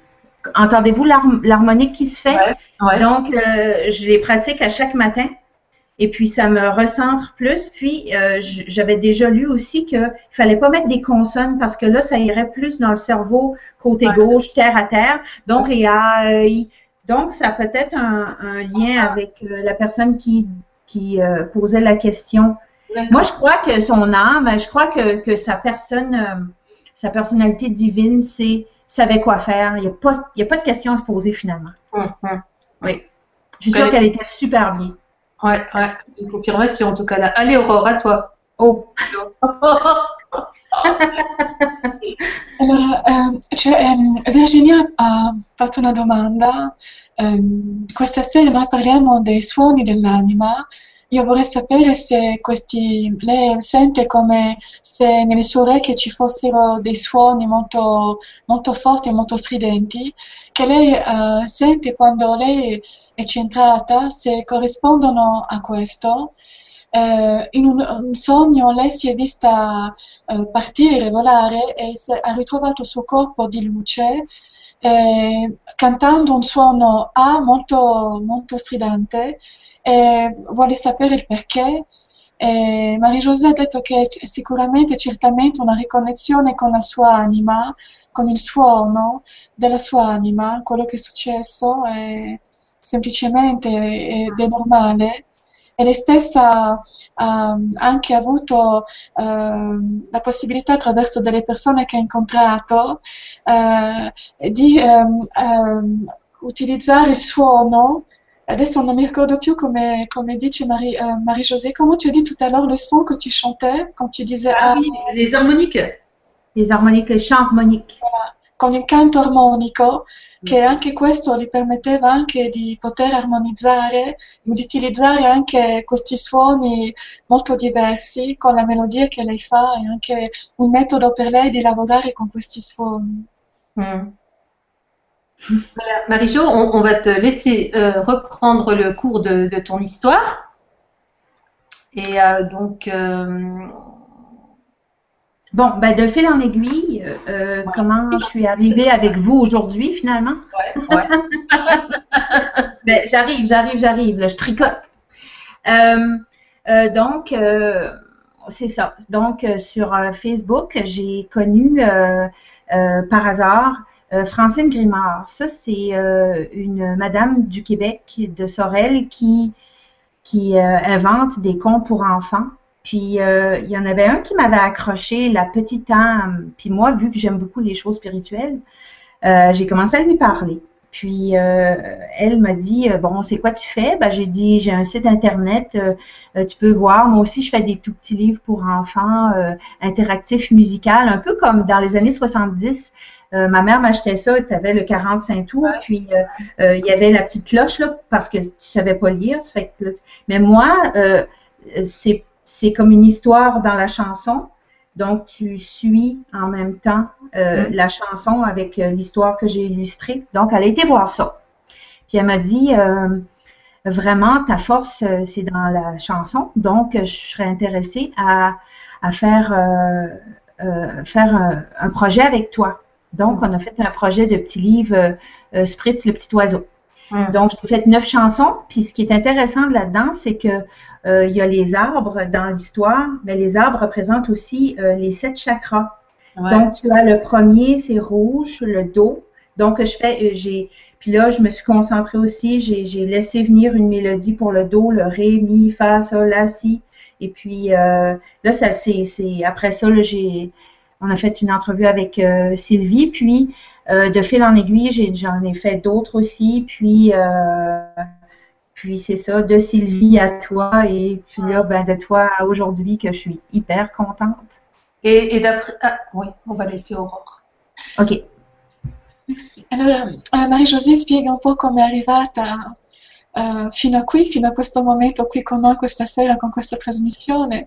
entendez-vous l'har- l'harmonique qui se fait? Ouais, ouais. Donc, euh, je les pratique à chaque matin. Et puis, ça me recentre plus. Puis, euh, j'avais déjà lu aussi qu'il ne fallait pas mettre des consonnes parce que là, ça irait plus dans le cerveau côté ouais. gauche, terre à terre. Donc, les A, I. Donc, ça a peut-être un, un lien avec euh, la personne qui, qui euh, posait la question. Moi, je crois que son âme, je crois que, que sa personne, euh, sa personnalité divine, c'est savait quoi faire. Il n'y a pas, il y a pas de question à se poser finalement. Mm-hmm. Oui. Je suis sûre qu'elle était super bien. Ouais, ouais, une confirmation en tout cas là. Allez Aurore, à toi. Oh. Allora, eh, cioè, eh, Virginia ha fatto una domanda. Eh, questa sera noi parliamo dei suoni dell'anima. Io vorrei sapere se questi, lei sente come se nelle sue orecchie ci fossero dei suoni molto, molto forti e molto stridenti, che lei eh, sente quando lei è centrata, se corrispondono a questo. Eh, in un, un sogno lei si è vista eh, partire, volare e se, ha ritrovato il suo corpo di luce eh, cantando un suono A molto, molto stridente e vuole sapere il perché. E Marie-José ha detto che c- sicuramente, certamente una riconnessione con la sua anima, con il suono della sua anima, quello che è successo è semplicemente ed è normale. E lei stessa ha anche avuto uh, la possibilità attraverso delle persone che ha incontrato uh, di um, um, utilizzare il suono. Adesso non mi ricordo più come, come dice Marie, uh, Marie-José. Comment tu as dit tout à l'heure le son que tu chantais quand tu disais ah, ah oui, les harmoniques. Les harmoniques, les chants harmoniques. Voilà, con il canto armonico, che anche questo gli permetteva anche di poter armonizzare, di utilizzare anche questi suoni molto diversi con la melodia che lei fa, e anche un metodo per lei di lavorare con questi suoni. Mm. Voilà. Marie-Jo, on, on va te laisser euh, reprendre le cours de, de ton histoire. Et euh, donc... Euh... Bon, ben de fil en aiguille, euh, ouais. Comment je suis arrivée avec vous aujourd'hui finalement? Ouais, ouais. Ben, j'arrive, j'arrive, j'arrive, là, je tricote. Euh, euh, donc, euh, c'est ça. Donc, euh, sur euh, Facebook, j'ai connu euh, euh, par hasard euh, Francine Grimard. Ça, c'est euh, une madame du Québec, de Sorel, qui, qui euh, invente des contes pour enfants. Puis, euh, il y en avait un qui m'avait accroché, la petite âme. Puis moi, vu que j'aime beaucoup les choses spirituelles, euh, j'ai commencé à lui parler. Puis, euh, elle m'a dit, euh, bon, c'est quoi tu fais? Ben, j'ai dit, j'ai un site Internet, euh, euh, tu peux voir. Moi aussi, je fais des tout petits livres pour enfants, euh, interactifs, musicaux, un peu comme dans les années soixante-dix. Euh, ma mère m'achetait ça, tu avais le quarante-cinq tours, ouais. Puis euh, euh, il y avait la petite cloche, là, parce que tu savais pas lire. Ça fait que, là, mais moi, euh, c'est C'est comme une histoire dans la chanson, donc tu suis en même temps euh, mmh. la chanson avec euh, l'histoire que j'ai illustrée. Donc, elle a été voir ça. Puis elle m'a dit, euh, vraiment, ta force, euh, c'est dans la chanson, donc je serais intéressée à, à faire, euh, euh, faire un, un projet avec toi. Donc, mmh. on a fait un projet de petit livre, euh, Spritz, le petit oiseau. Mmh. Donc, j'ai fait neuf chansons. Puis, ce qui est intéressant là-dedans, c'est que euh, il y a les arbres dans l'histoire, mais les arbres représentent aussi euh, les sept chakras. Ouais. Donc, tu as le premier, c'est rouge, le do. Donc, je fais, euh, j'ai, puis là, je me suis concentrée aussi. J'ai, j'ai laissé venir une mélodie pour le do, le ré, mi, fa, sol, la, si. Et puis euh, là, ça, c'est, c'est après ça, là, j'ai, on a fait une entrevue avec euh, Sylvie. Puis euh, de fil en aiguille, j'ai, j'en ai fait d'autres aussi. Puis euh, Puis c'est ça, de Sylvie à toi, et puis là, ben, de toi à aujourd'hui, que je suis hyper contente. Et, et d'après... Ah, oui, on va laisser Aurore. Ok. Merci. Allora, uh, Marie-José spiega un po' come è arrivata uh, fino a qui, fino a questo momento qui con noi questa sera, con questa trasmissione.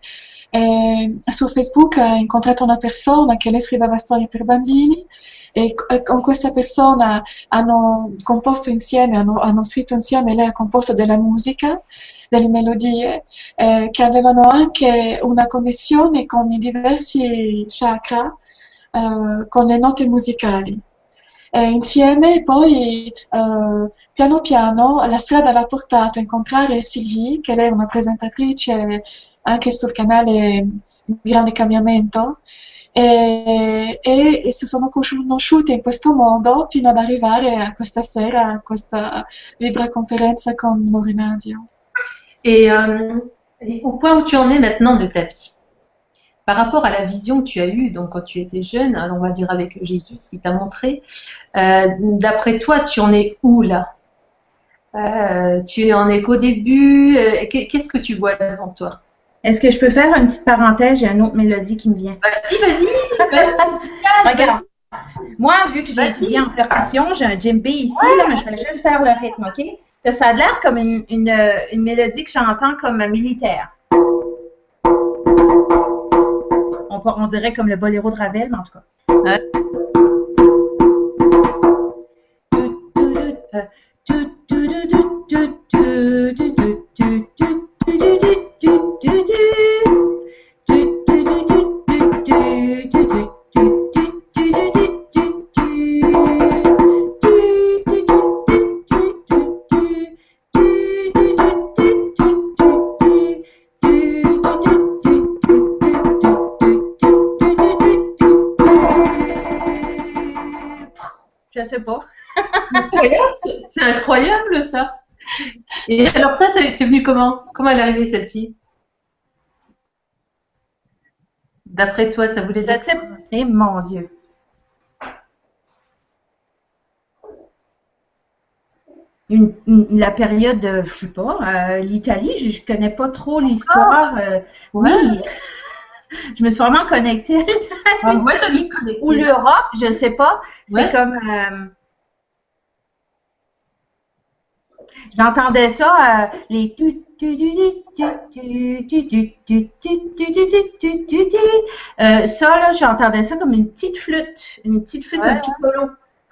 E su Facebook ha incontrato una persona che lei scriveva storie per bambini, e con questa persona hanno composto insieme, hanno, hanno scritto insieme, lei ha composto della musica, delle melodie eh, che avevano anche una connessione con i diversi chakra, eh, con le note musicali. E insieme poi eh, piano piano la strada l'ha portato a incontrare Sylvie, che lei è una presentatrice anche sul canale Grande Cambiamento, e, e, e si sono conosciuti in questo modo fino ad arrivare a questa sera, a questa vibra-conferenza con Lorenadio. Et euh, au point où tu en es maintenant de ta vie, par rapport à la vision que tu as eue, donc quand tu étais jeune, alors on va dire avec Jésus, ce qu'il t'a montré, euh, d'après toi, tu en es où là? euh, Tu en es qu'au début, euh, qu'est-ce que tu vois devant toi? Est-ce que je peux faire une petite parenthèse? J'ai une autre mélodie qui me vient. Vas-y, vas-y, vas-y. Regarde. Moi, vu que j'ai étudié en percussion, j'ai un djembé ici, Ouais. là, mais je vais juste faire le rythme, OK? Là, ça a l'air comme une, une, une mélodie que j'entends comme un militaire. On, peut- on dirait comme le boléro de Ravel, mais en tout cas. Ouais. Je sais pas. Incroyable, c'est incroyable ça. Et alors ça, c'est c'est venu comment? Comment elle est arrivée celle-ci? D'après toi, ça voulait Je dire sais pas. Eh mon Dieu. Une, une- la période, de, je sais pas, euh, l'Italie, je, je connais pas trop l'histoire. euh, Ouais. Oui, je me suis vraiment connectée. Ah, ouais, t'as dit connecté. Ou l'Europe, je sais pas. C'est Ouais. comme. euh, J'entendais ça, euh, les. tu- tu- tu- tu- tu- tu- tu- tu- tu- tu- tu- tu- tu- tu. Euh, Ça, là, j'entendais ça comme une petite flûte. Une petite flûte, un Ouais. piccolo.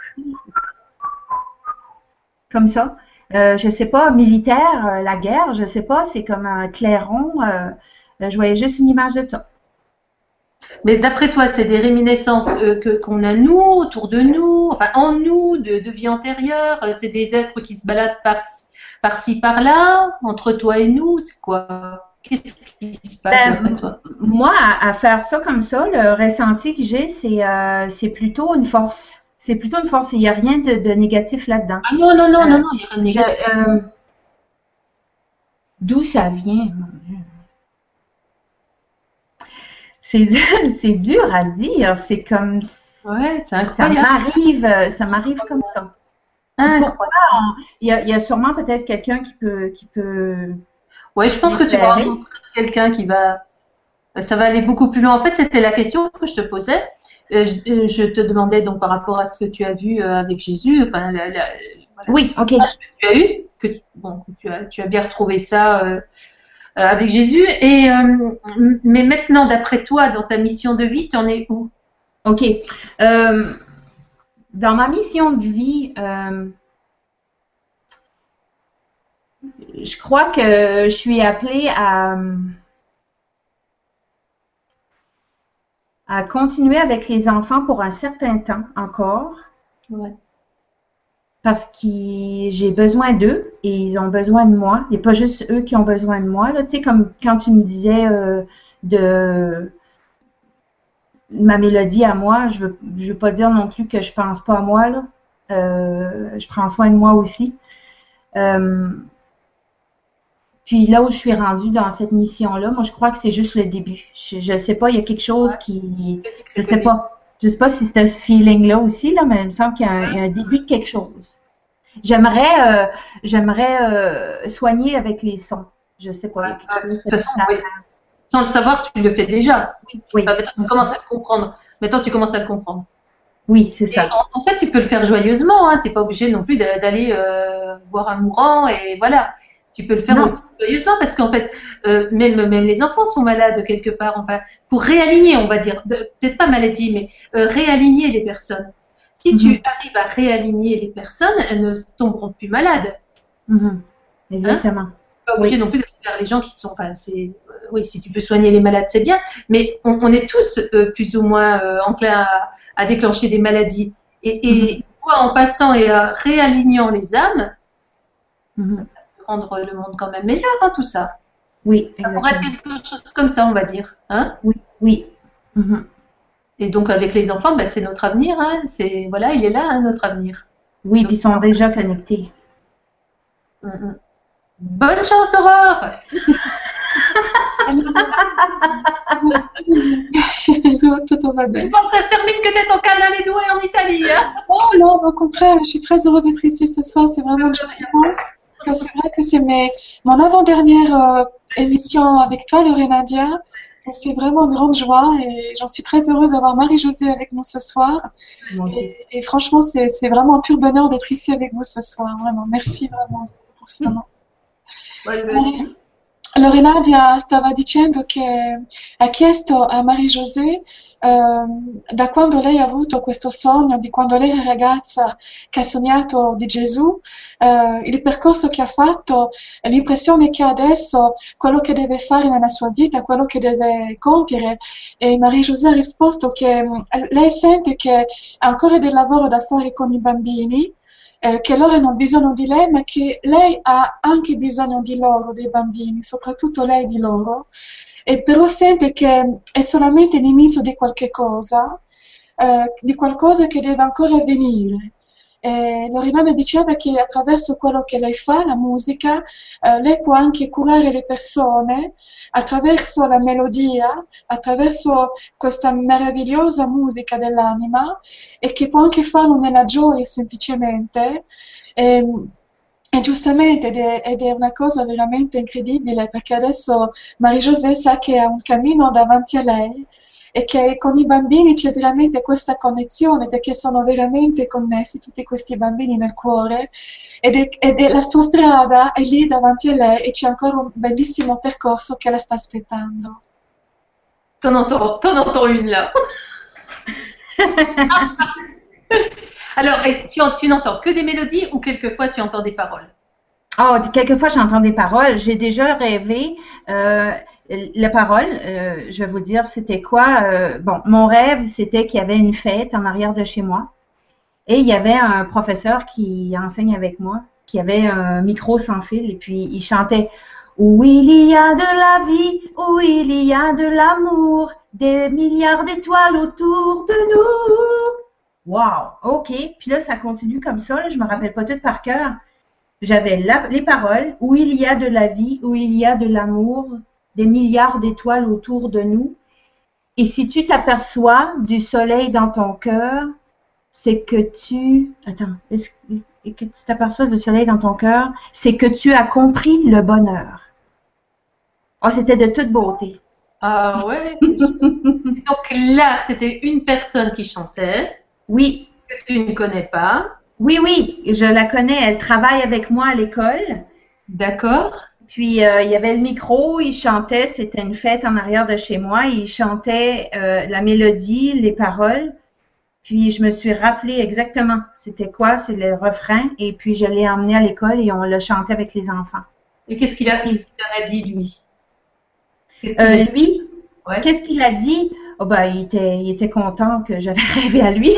Comme ça. Euh, je sais pas, militaire, euh, la guerre, je sais pas, c'est comme un clairon. euh, euh, je voyais juste une image de ça. Mais d'après toi, c'est des réminiscences euh, que qu'on a nous, autour de nous, enfin en nous, de, de vie antérieure. euh, C'est des êtres qui se baladent par, par-ci, par-là, entre toi et nous. C'est quoi? Qu'est-ce qui se passe Ben, d'après toi? Moi, à, à faire ça comme ça, le ressenti que j'ai, c'est euh, c'est plutôt une force. C'est plutôt une force. Il n'y a rien de, de négatif là-dedans. Ah non, non, non, Euh, non, non, il n'y a rien de Je- négatif. euh, D'où ça vient? C'est c'est dur à dire. C'est comme Ouais, c'est ça incroyable. m'arrive, euh, ça m'arrive comme ça. Puis Incroyable. pourquoi on- il y a, il y a sûrement peut-être quelqu'un qui peut qui peut Ouais, je pense que tu vas m'éclairer. rencontrer quelqu'un qui va. Ça va aller beaucoup plus loin. En fait, c'était la question que je te posais. Euh, je, euh, je te demandais donc par rapport à ce que tu as vu euh, avec Jésus, enfin, la, la- voilà, Oui, ok. l'image que tu as eu, que tu- bon, que tu as, tu as bien retrouvé ça euh, euh, avec Jésus. Et euh, m- mais maintenant, d'après toi, dans ta mission de vie, tu en es où? Ok. Euh, dans ma mission de vie, euh, je crois que je suis appelée à, à continuer avec les enfants pour un certain temps encore, Ouais. parce que j'ai besoin d'eux et ils ont besoin de moi. Il n'y a pas juste eux qui ont besoin de moi. Là, tu sais, comme quand tu me disais euh, de ma mélodie à moi, je veux, je veux pas dire non plus que je pense pas à moi, là. Euh, je prends soin de moi aussi. Euh, puis là où je suis rendue dans cette mission-là, moi je crois que c'est juste le début. Je, je sais pas, il y a quelque chose qui, je sais pas, je sais pas si c'était ce feeling-là aussi, là, mais il me semble qu'il y a un, il y a un début de quelque chose. J'aimerais, euh, j'aimerais euh, soigner avec les sons. Je sais pas. Il y a quelque chose De toute façon, oui. Sans le savoir, tu le fais déjà. Oui, Enfin, maintenant, tu commences à le comprendre. Maintenant, tu commences à le comprendre. oui, c'est Et ça. en, en fait, tu peux le faire joyeusement. Hein. Tu n'es pas obligé non plus de- d'aller euh, voir un mourant. Et voilà. Tu peux le faire Non. aussi joyeusement parce qu'en fait, euh, même, même les enfants sont malades quelque part. Enfin, pour réaligner, on va dire, de- peut-être pas maladie, mais euh, réaligner les personnes. Si Mhm. tu arrives à réaligner les personnes, elles ne tomberont plus malades. Mhm. Exactement. Pas obligé non plus de faire les gens qui sont. Enfin, c'est euh, oui, si tu peux soigner les malades, c'est bien. Mais on, on est tous euh, plus ou moins euh, enclins à, à déclencher des maladies. Et, et toi, en passant et en réalignant les âmes, Mhm. Rendre le monde quand même meilleur, hein, tout ça. Oui, Ça pourrait être exactement. quelque chose comme ça, on va dire. Hein? Oui, oui. Mhm. Et donc avec les enfants, ben, c'est notre avenir. Hein? C'est, voilà, il est là, hein, notre avenir. Oui, Donc, puis ils sont déjà connectés. mm, mm. Bonne chance, Aurore! tout, tout va bien. Bon, ça se termine que t'es en Canale due en Italie. Hein? Oh non, au contraire, je suis très heureuse d'être ici ce soir. C'est vraiment une chance. Que c'est vrai que c'est mes, mon avant-dernière euh, émission avec toi, Lorenadia. Et c'est vraiment une grande joie et j'en suis très heureuse d'avoir Marie-Josée avec nous ce soir. Moi aussi. Et, et franchement, c'est c'est vraiment un pur bonheur d'être ici avec vous ce soar. Vraiment, merci vraiment pour ce moment. Ouais, ben, Lorena dia- stava dicendo che ha chiesto a Marie-Josée ehm, da quando lei ha avuto questo sogno, di quando lei era ragazza che ha sognato di Gesù, eh, il percorso che ha fatto, l'impressione che ha adesso, quello che deve fare nella sua vita, quello che deve compiere. E Marie-Josée ha risposto che mm, lei sente che ha ancora del lavoro da fare con i bambini, eh, che loro hanno bisogno di lei, ma che lei ha anche bisogno di loro, dei bambini, soprattutto lei di loro, e però sente che è solamente l'inizio di qualche cosa, eh, di qualcosa che deve ancora avvenire. E Loredana diceva che attraverso quello che lei fa, la musica, eh, lei può anche curare le persone attraverso la melodia, attraverso questa meravigliosa musica dell'anima e che può anche farlo nella gioia semplicemente. E, e giustamente, ed è, ed è una cosa veramente incredibile perché adesso Marie-Josée sa che ha un cammino davanti a lei e che con i bambini c'è veramente questa connessione perché sono veramente connessi tutti questi bambini nel cuore ed è, ed è la sua strada è lì davanti a lei e c'è ancora un bellissimo percorso che la sta aspettando. t'en entends, t'en entends une là. Alors, et tu, en- tu n'entends que des mélodies ou quelquefois tu entends des paroles? Oh, quelquefois, j'entends des paroles. J'ai déjà rêvé. Euh, les paroles, euh, je vais vous dire, c'était quoi? Euh, bon, mon rêve, c'était qu'il y avait une fête en arrière de chez moi. Et il y avait un professeur qui enseigne avec moi, qui avait un micro sans fil, et puis il chantait « Où il y a de la vie, où il y a de l'amour, des milliards d'étoiles autour de nous. » Wow, OK. Puis là, ça continue comme ça. Là, je me rappelle pas tout par cœur. J'avais la- les paroles « Où il y a de la vie, où il y a de l'amour, des milliards d'étoiles autour de nous. Et si tu t'aperçois du soleil dans ton cœur, c'est que tu... Attends, est-ce et que tu t'aperçois du soleil dans ton cœur, c'est que tu as compris le bonheur. » Oh, c'était de toute beauté. Ah ouais, c'est chouette. Donc là, c'était une personne qui chantait, Oui, que tu ne connais pas. oui, oui, je la connais. Elle travaille avec moi à l'école. D'accord. Puis, euh, il y avait le micro, il chantait, c'était une fête en arrière de chez moi. Il chantait euh, la mélodie, les paroles. Puis, je me suis rappelé exactement c'était quoi, c'est le refrain. Et puis, je l'ai emmené à l'école et on l'a chanté avec les enfants. Et qu'est-ce qu'il a, qu'est-ce qu'il en a dit, lui? Qu'est-ce qu'il Euh, a dit? lui, Ouais. qu'est-ce qu'il a dit? Oh, ben, il était, il était content que j'avais rêvé à lui.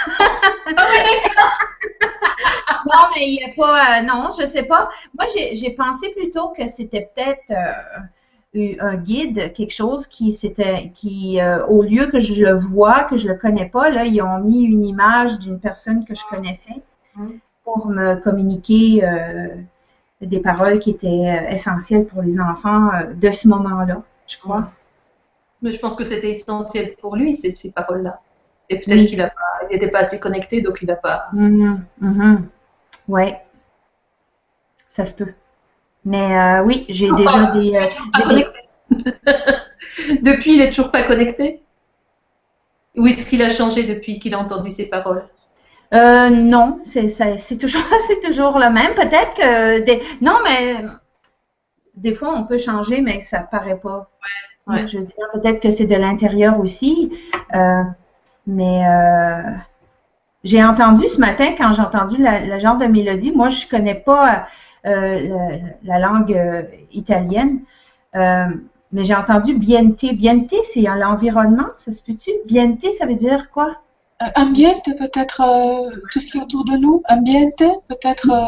Non, mais il n'y a pas. euh, non, je sais pas. Moi, j'ai j'ai pensé plutôt que c'était peut-être euh, un guide, quelque chose qui c'était qui euh, au lieu que je le vois, que je le connais pas, là, ils ont mis une image d'une personne que je connaissais Mhm. pour me communiquer euh, des paroles qui étaient euh, essentielles pour les enfants euh, de ce moment-là, je crois. Mais je pense que c'était essentiel pour lui, ces, ces paroles-là. Et peut-être Oui. qu'il a pas, il n'était pas assez connecté, donc il n'a pas. Mhm, mhm. Ouais, ça se peut. Mais euh, oui, j'ai déjà des. Il euh, est toujours pas j'ai des- connecté. Depuis, il est toujours pas connecté? Ou est-ce qu'il a changé depuis qu'il a entendu ces paroles? Euh, non, c'est ça- c'est toujours, c'est toujours le même. Peut-être que des, non, mais des fois on peut changer, mais ça paraît pas. Ouais. Je veux dire, peut-être que c'est de l'intérieur aussi. Euh, mais euh, j'ai entendu ce matin quand j'ai entendu la, la genre de mélodie. Moi, je connais pas euh, la, la langue euh, italienne, euh, mais j'ai entendu biente. Biente, c'est à l'environnement, ça se peut-tu? Biente, ça veut dire quoi? Euh, ambiente, peut-être euh, tout ce qui est autour de nous. Ambiente, peut-être. euh,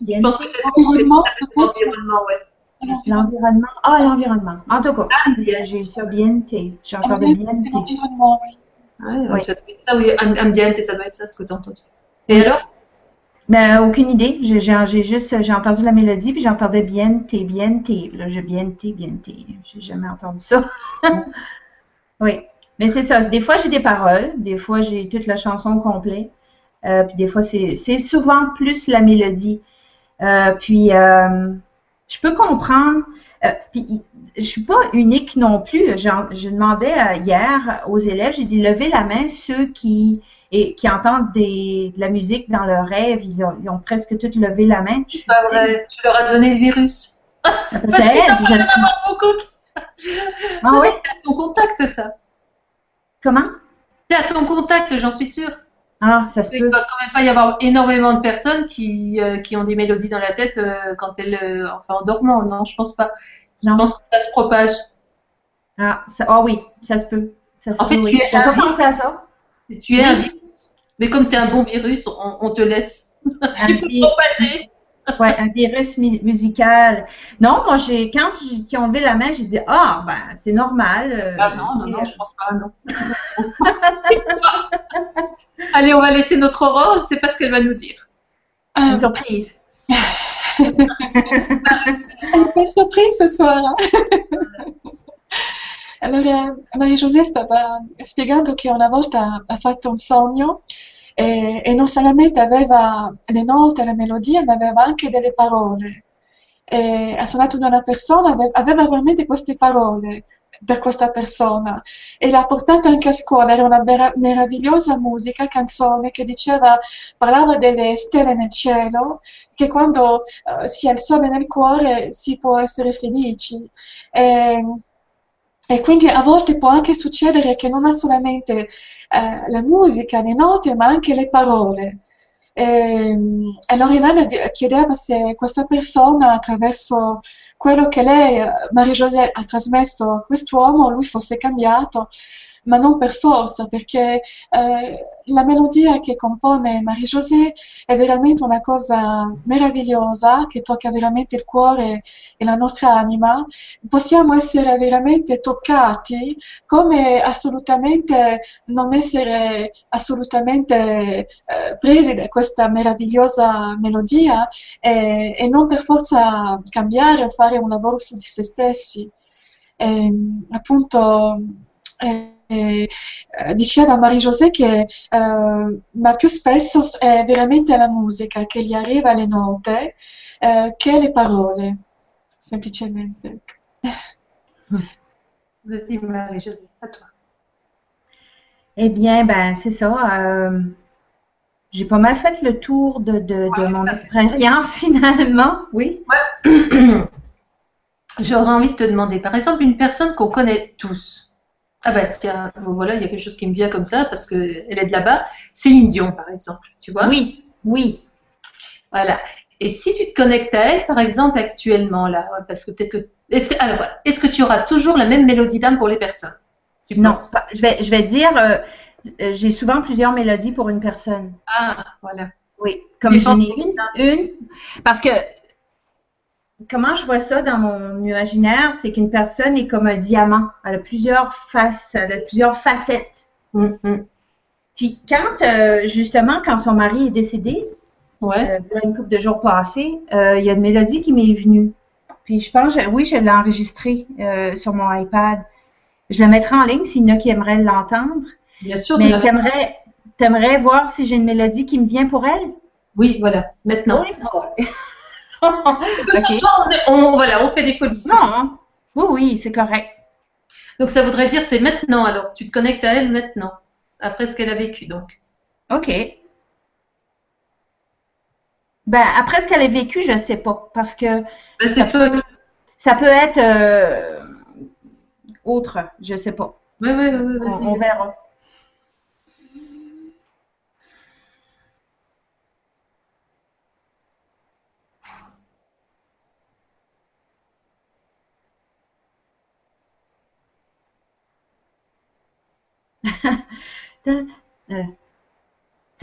Je pense que c'est L'environnement, peut-être. l'environnement, ouais. L'environnement. Ah, l'environnement. En tout cas, Ambiente. j'ai ça biente. J'ai encore de Ambiente, biente. l'environnement, oui. Ouais, Oui. ça doit être ça, oui. Am- Ambiente, ça doit être ça, ce que tu as entendu. Et alors? Ben, aucune idée. J'ai j'ai- j'ai juste, j'ai entendu la mélodie, puis j'entendais biente, biente. Là, je biente, biente. J'ai jamais entendu ça. Oui. Mais c'est ça. Des fois, j'ai des paroles. Des fois, j'ai toute la chanson au complet. Euh, puis des fois, c'est c'est souvent plus la mélodie. Euh, puis, euh, je peux comprendre. Euh, puis, je suis pas unique non plus. J'en- Je demandais euh, hier aux élèves, j'ai dit levez la main ceux qui et qui entendent des, de la musique dans leur rêve. Ils ont, ils ont presque tous levé la main. Je suis Pas vrai, tu leur as donné le virus. Parce que peut-être. t'as Je sais. pas mon compte. Ah oui? C'est à ton contact, ça. Comment? C'est à ton contact, j'en suis sûre. Ah, ça se Il peut. va quand même pas y avoir énormément de personnes qui, euh, qui ont des mélodies dans la tête euh, quand elles, euh, enfin en dormant. Non, je pense pas. Je Non. pense que ça se propage. Ah, ça, ah oui, ça se peut. Ça se En fait, peut, oui. tu es J'avais un pas pensé à ça. Tu es un virus. Mais comme tu es un bon virus, on, on te laisse. Tu peux vi- propager. Ouais, un virus mu- musical. Non, moi, j'ai quand j'ai- qui ont levé la main, j'ai dit ah ben c'est normal. euh, Ah non, non, et, non, je pense pas, non. Je pense pas. Allez, on va laisser notre Aurore, je sais pas ce qu'elle va nous dire. euh, Euh, une surprise. Una bella sorpresa, suora. Allora, Maria José stava spiegando che una volta ha fatto un sogno e, e non solamente aveva le note, le melodie, ma aveva anche delle parole. E ha suonato da una persona, ave- aveva veramente queste parole per questa persona e l'ha portata anche a scuola. Era una vera- meravigliosa musica, canzone che diceva, parlava delle stelle nel cielo, che quando eh, si ha il sole nel cuore si può essere felici. E, e quindi a volte può anche succedere che non ha solamente eh, la musica, le note, ma anche le parole. E, e Lorinana di- chiedeva se questa persona, attraverso quello che lei, eh, Marie-José, ha trasmesso a quest'uomo, lui fosse cambiato, ma non per forza, perché eh, la melodia che compone Marie-José è veramente una cosa meravigliosa, che tocca veramente il cuore e la nostra anima. Possiamo essere veramente toccati, come assolutamente non essere assolutamente eh, presi da questa meravigliosa melodia e, e non per forza cambiare o fare un lavoro su di se stessi. E, appunto, eh, eh, diceva Marie-José che eh, ma più spesso è veramente la musica che gli arriva le note eh, che le parole, semplicemente. Vas-y, Marie-Josée, à toi. Eh bien, ben c'est ça. euh, j'ai pas mal fait le tour de, de, de mon expérience finalement. Oui. J'aurais envie de te demander, par exemple, une personne qu'on connaît tous. Ah bah tiens, bon, voilà, il y a quelque chose qui me vient comme ça parce qu'elle est de là-bas. Céline Dion, par exemple, tu vois? Oui, oui. Voilà. Et si tu te connectes à elle, par exemple, actuellement, là, ouais, parce que peut-être que... Est-ce que, alors, voilà. Est-ce que tu auras toujours la même mélodie d'âme pour les personnes? Tu Non, penses? je vais, je vais dire, euh, euh, j'ai souvent plusieurs mélodies pour une personne. Ah, voilà. Oui, comme Tu j'en ai penses- une, une, parce que comment je vois ça dans mon imaginaire, c'est qu'une personne est comme un diamant. Elle a plusieurs faces, elle a plusieurs facettes. Hum, hum. Puis quand, euh, justement, quand son mari est décédé, Ouais. euh, il y a une couple de jours passés, euh, il y a une mélodie qui m'est venue. Puis je pense, oui, je l'ai enregistrée euh, sur mon iPad. Je la mettrai en ligne s'il y en a qui aimeraient l'entendre. Bien sûr, tu Mais l'as- t'aimerais, t'aimerais voir si j'ai une mélodie qui me vient pour elle? Oui, voilà, maintenant. Oui. Ce Ok. soir, on, on- voilà, on fait des folies. ce Non, soir. hein. Oui, oui, c'est correct. Donc ça voudrait dire c'est maintenant alors. Tu te connectes à elle maintenant, après ce qu'elle a vécu donc. OK. Ben, après ce qu'elle a vécu, je sais pas. Parce que Ben, c'est toi qui... ça peut être euh, autre, je sais pas. Oui, oui, oui, On, vas-y. on verra. Ta- euh,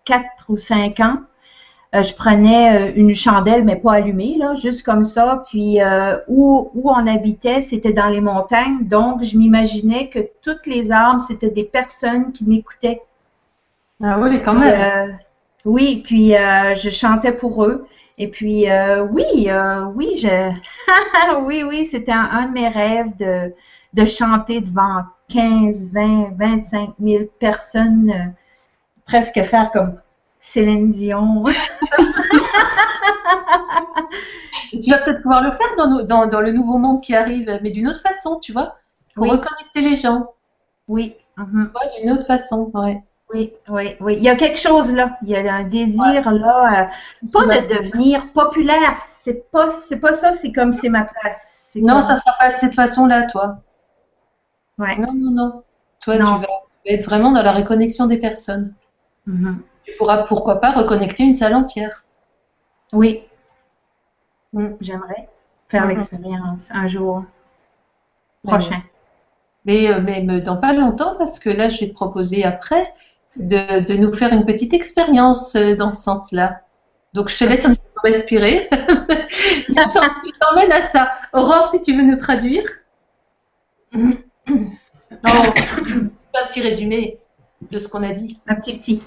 quatre ou cinq ans. Euh, je prenais euh, une chandelle, mais pas allumée, là, juste comme ça. Puis euh, où, où on habitait, c'était dans les montagnes. Donc, je m'imaginais que toutes les arbres, c'était des personnes qui m'écoutaient. Ah oui, quand même. Euh, oui, puis euh, je chantais pour eux. Et puis, euh, oui, euh, oui, je... oui, oui, c'était un, un de mes rêves de, de chanter devant quinze, vingt, vingt-cinq mille personnes, euh, presque faire comme Céline Dion. Tu vas peut-être pouvoir le faire dans, nos- dans, dans le nouveau monde qui arrive, mais d'une autre façon, tu vois, pour Oui. reconnecter les gens. Oui. Tu Mhm. vois, d'une autre façon, ouais. Oui, oui, oui. Il y a quelque chose là. Il y a un désir là, euh, pas Ouais. de devenir populaire. C'est pas, c'est pas ça. C'est comme c'est ma place. C'est Non, comme- ça sera pas de cette façon-là, toi. Ouais. Non, non, non. Toi, Non. tu vas tu vas être vraiment dans la reconnexion des personnes. Mhm. Tu pourras, pourquoi pas, reconnecter une salle entière. Oui. Mm. J'aimerais faire Mhm. l'expérience un jour Ouais. prochain. Mais, euh, mais mais dans pas longtemps, parce que là, je vais te proposer après de, de nous faire une petite expérience euh, dans ce sens-là. Donc, je te laisse un petit peu respirer. Je t'en- je t'emmène à ça. Aurore, si tu veux nous traduire. Non, un petit résumé de ce qu'on a dit. Un petit petit.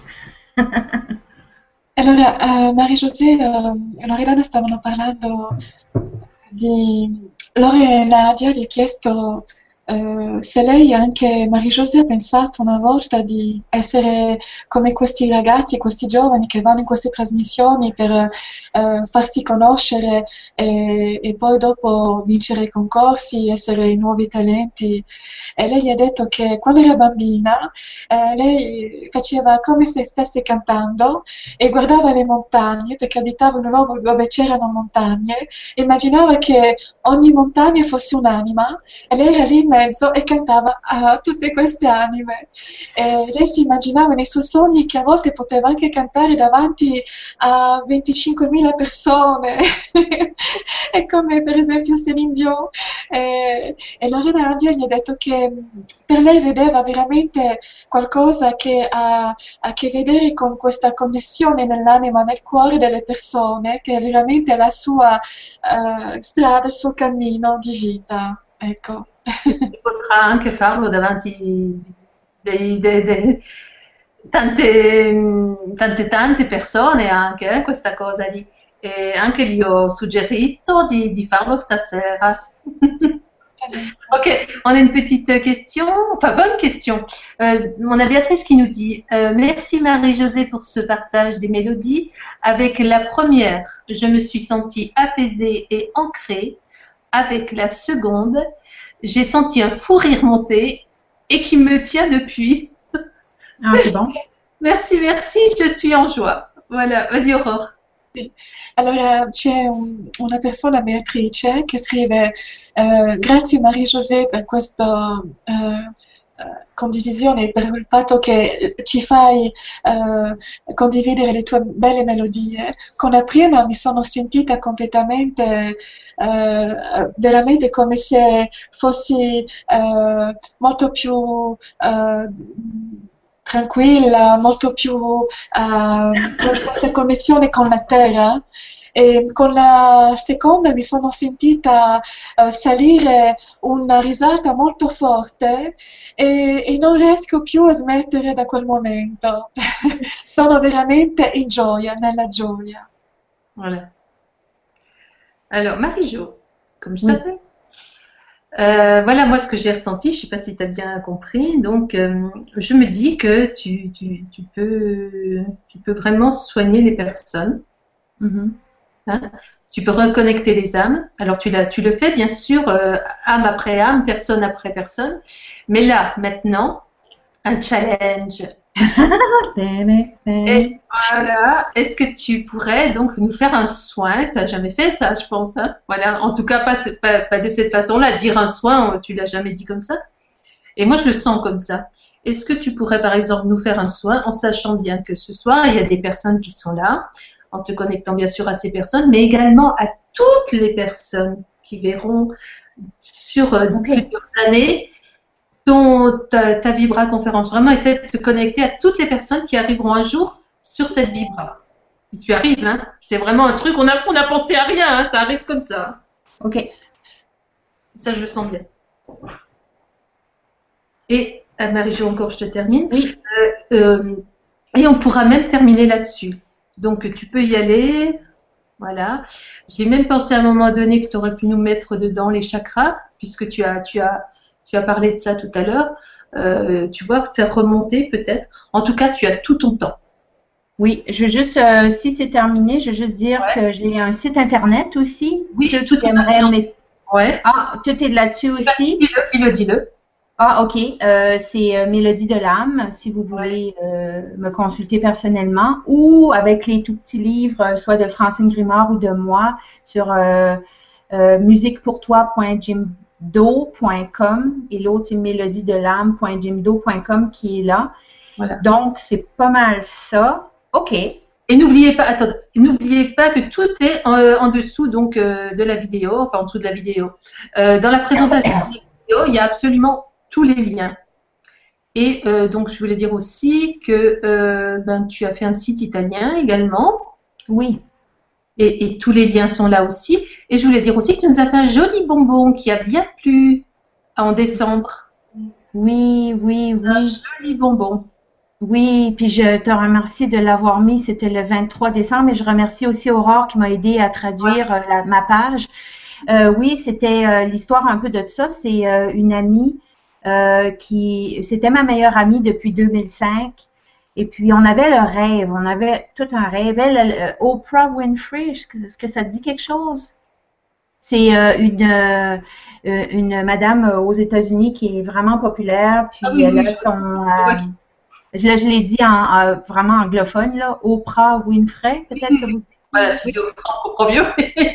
Allora, eh, Marie-José eh, e Loredana stavano parlando di... Lore e Nadia gli ha chiesto eh, se lei, anche Marie-José, ha pensato una volta di essere come questi ragazzi, questi giovani che vanno in queste trasmissioni per eh, farsi conoscere e, e poi dopo vincere i concorsi, essere i nuovi talenti. E lei gli ha detto che quando era bambina eh, lei faceva come se stesse cantando e guardava le montagne, perché abitava in un luogo dove c'erano montagne, e immaginava che ogni montagna fosse un'anima e lei era lì in mezzo e cantava a tutte queste anime. E lei si immaginava nei suoi sogni che a volte poteva anche cantare davanti a venticinquemila persone, e come per esempio Céline Dion. E, e Lorena Nadia gli ha detto che per lei vedeva veramente qualcosa che ha a che vedere con questa connessione nell'anima, nel cuore delle persone, che è veramente la sua eh, strada, il suo cammino di vita. Ecco. Potrà anche farlo davanti dei, dei- dei- tante, tante, tante persone anche, eh, questa cosa lì. E anche gli ho suggerito di, di farlo stasera. Ok, on a une petite question, enfin bonne question. Euh, on a Béatrice qui nous dit euh, merci Marie-Josée pour ce partage des mélodies. Avec la première, je me suis sentie apaisée et ancrée. Avec la seconde, j'ai senti un fou rire monter et qui me tient depuis. Ah, c'est bon. Merci, merci, je suis en joie. Voilà, vas-y Aurore. Allora c'è un- una persona, Beatrice, che scrive eh, grazie Marie-José per questa eh, eh, condivisione, per il fatto che ci fai eh, condividere le tue belle melodie. Con la prima mi sono sentita completamente, eh, veramente come se fossi eh, molto più eh, tranquilla, molto più eh, con questa connessione con la terra. E con la seconda mi sono sentita eh, salire una risata molto forte e, e non riesco più a smettere da quel momento. Sono veramente in gioia, nella gioia. Voilà. Alors, Marie-Jo, comme je Oui. t'appelle. Euh, voilà, moi, ce que j'ai ressenti, je ne sais pas si tu as bien compris. Donc, euh, je me dis que tu, tu, tu peux, tu peux vraiment soigner les personnes. Mhm. Hein. Tu peux reconnecter les âmes. Alors, tu, l'as- tu le fais, bien sûr, euh, âme après âme, personne après personne. Mais là, maintenant, un challenge. Et voilà, est-ce que tu pourrais donc nous faire un soin? Tu n'as jamais fait ça, je pense. Hein, voilà, en tout cas, pas, pas, pas de cette façon-là. Dire un soin, tu l'as jamais dit comme ça. Et moi, je le sens comme ça. Est-ce que tu pourrais, par exemple, nous faire un soin en sachant bien que ce soir, il y a des personnes qui sont là, en te connectant bien sûr à ces personnes, mais également à toutes les personnes qui verront sur euh, Ok. plusieurs années ton, ta, ta Vibra conférence. Vraiment, essaie de te connecter à toutes les personnes qui arriveront un jour sur cette vibra. Si tu arrives, hein, c'est vraiment un truc, on a, on a pensé à rien, hein, ça arrive comme ça. OK. Ça, je le sens bien. Et, euh, Marie-Jo, encore, je te termine. Oui. Euh, euh, et on pourra même terminer là-dessus. Donc, tu peux y aller. Voilà. J'ai même pensé à un moment donné que tu aurais pu nous mettre dedans les chakras, puisque tu as, tu as, tu as parlé de ça tout à l'heure. Euh, tu vois, faire remonter peut-être. En tout cas, tu as tout ton temps. Oui, je veux juste, euh, si c'est terminé, je veux juste dire ouais. que j'ai un site internet aussi. Oui, ceux tout qui aimeraient mettre... Ouais. Ah, tout est là-dessus aussi. Dis-le, dis-le, dis-le. Ah, OK. Euh, c'est euh, Mélodie de l'âme, si vous voulez euh, me consulter personnellement, ou avec les tout petits livres, soit de Francine Grimard ou de moi, sur euh, euh, musique pour toi point jimdo point com et l'autre, c'est mélodie de l'âme point jimdo point com qui est là. Voilà. Donc, c'est pas mal ça. OK. Et n'oubliez pas, attendez, n'oubliez pas que tout est en, en dessous donc euh, de la vidéo, enfin en dessous de la vidéo. Euh, dans la présentation des vidéos, il y a absolument tous les liens. Et euh, donc, je voulais dire aussi que euh, ben, tu as fait un site italien également. Oui. Et, et tous les liens sont là aussi. Et je voulais dire aussi que tu nous as fait un joli bonbon qui a bien plu en décembre. Oui, oui, oui. Un joli bonbon. Oui, puis je te remercie de l'avoir mis, c'était le vingt-trois décembre, et je remercie aussi Aurore qui m'a aidé à traduire ouais. la, ma page. Euh, oui, c'était euh, l'histoire un peu de ça. C'est euh, une amie euh, qui, c'était ma meilleure amie depuis deux mille cinq, et puis on avait le rêve, on avait tout un rêve. Elle, elle, Oprah Winfrey, est-ce que, est-ce que ça te dit quelque chose? C'est euh, une euh, une madame aux États-Unis qui est vraiment populaire, puis ah oui, elle oui, a son euh, Là, je l'ai dit en, en vraiment anglophone, là, Oprah Winfrey, peut-être que vous dites. Voilà, tu dis Oprah, Oprah mieux.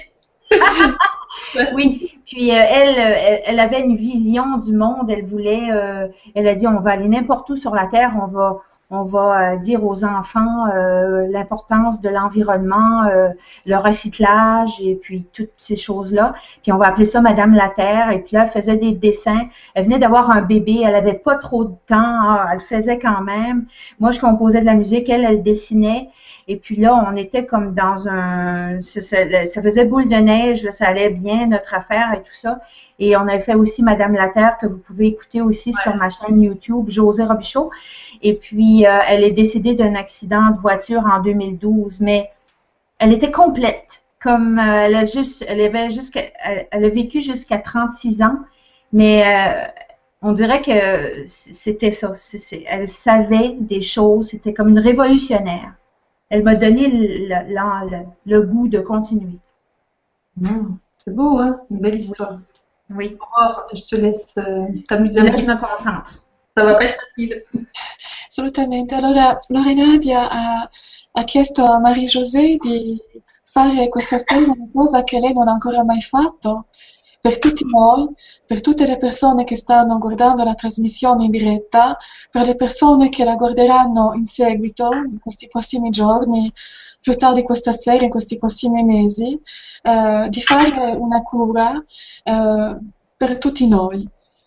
Oui, puis euh, elle, elle, elle avait une vision du monde. Elle voulait, euh, elle a dit, on va aller n'importe où sur la terre, on va, on va euh, dire aux enfants euh, l'importance de l'environnement, euh, le recyclage et puis toutes ces choses-là. Puis on va appeler ça Madame la Terre. Et puis là, elle faisait des dessins. Elle venait d'avoir un bébé, elle avait pas trop de temps, hein, elle faisait quand même. Moi, je composais de la musique, elle, elle dessinait. Et puis là, on était comme dans un... Ça, ça, ça faisait boule de neige, là, ça allait bien, notre affaire et tout ça. Et on avait fait aussi Madame la Terre, que vous pouvez écouter aussi ouais. sur ma chaîne YouTube, Josée Robichaud. Et puis, euh, elle est décédée d'un accident de voiture en deux mille douze, mais elle était complète. Comme euh, elle a juste, elle avait jusqu'à, elle, elle a vécu jusqu'à trente-six ans, mais euh, on dirait que c'était ça. C'est, c'est, elle savait des choses, c'était comme une révolutionnaire. Elle m'a donné le, le, le, le goût de continuer. Mmh, c'est beau, hein? Une belle histoire. Oui. Aurore, je te laisse euh, t'amuser un petit peu. Je me concentre. Ça va pas être facile. Assolutamente. Allora, Lorenadia ha, ha chiesto a Marie-José di fare questa sera una cosa che lei non ha ancora mai fatto per tutti noi, per tutte le persone che stanno guardando la trasmissione in diretta, per le persone che la guarderanno in seguito, in questi prossimi giorni, più tardi questa sera, in questi prossimi mesi, eh, di fare una cura eh, per tutti noi.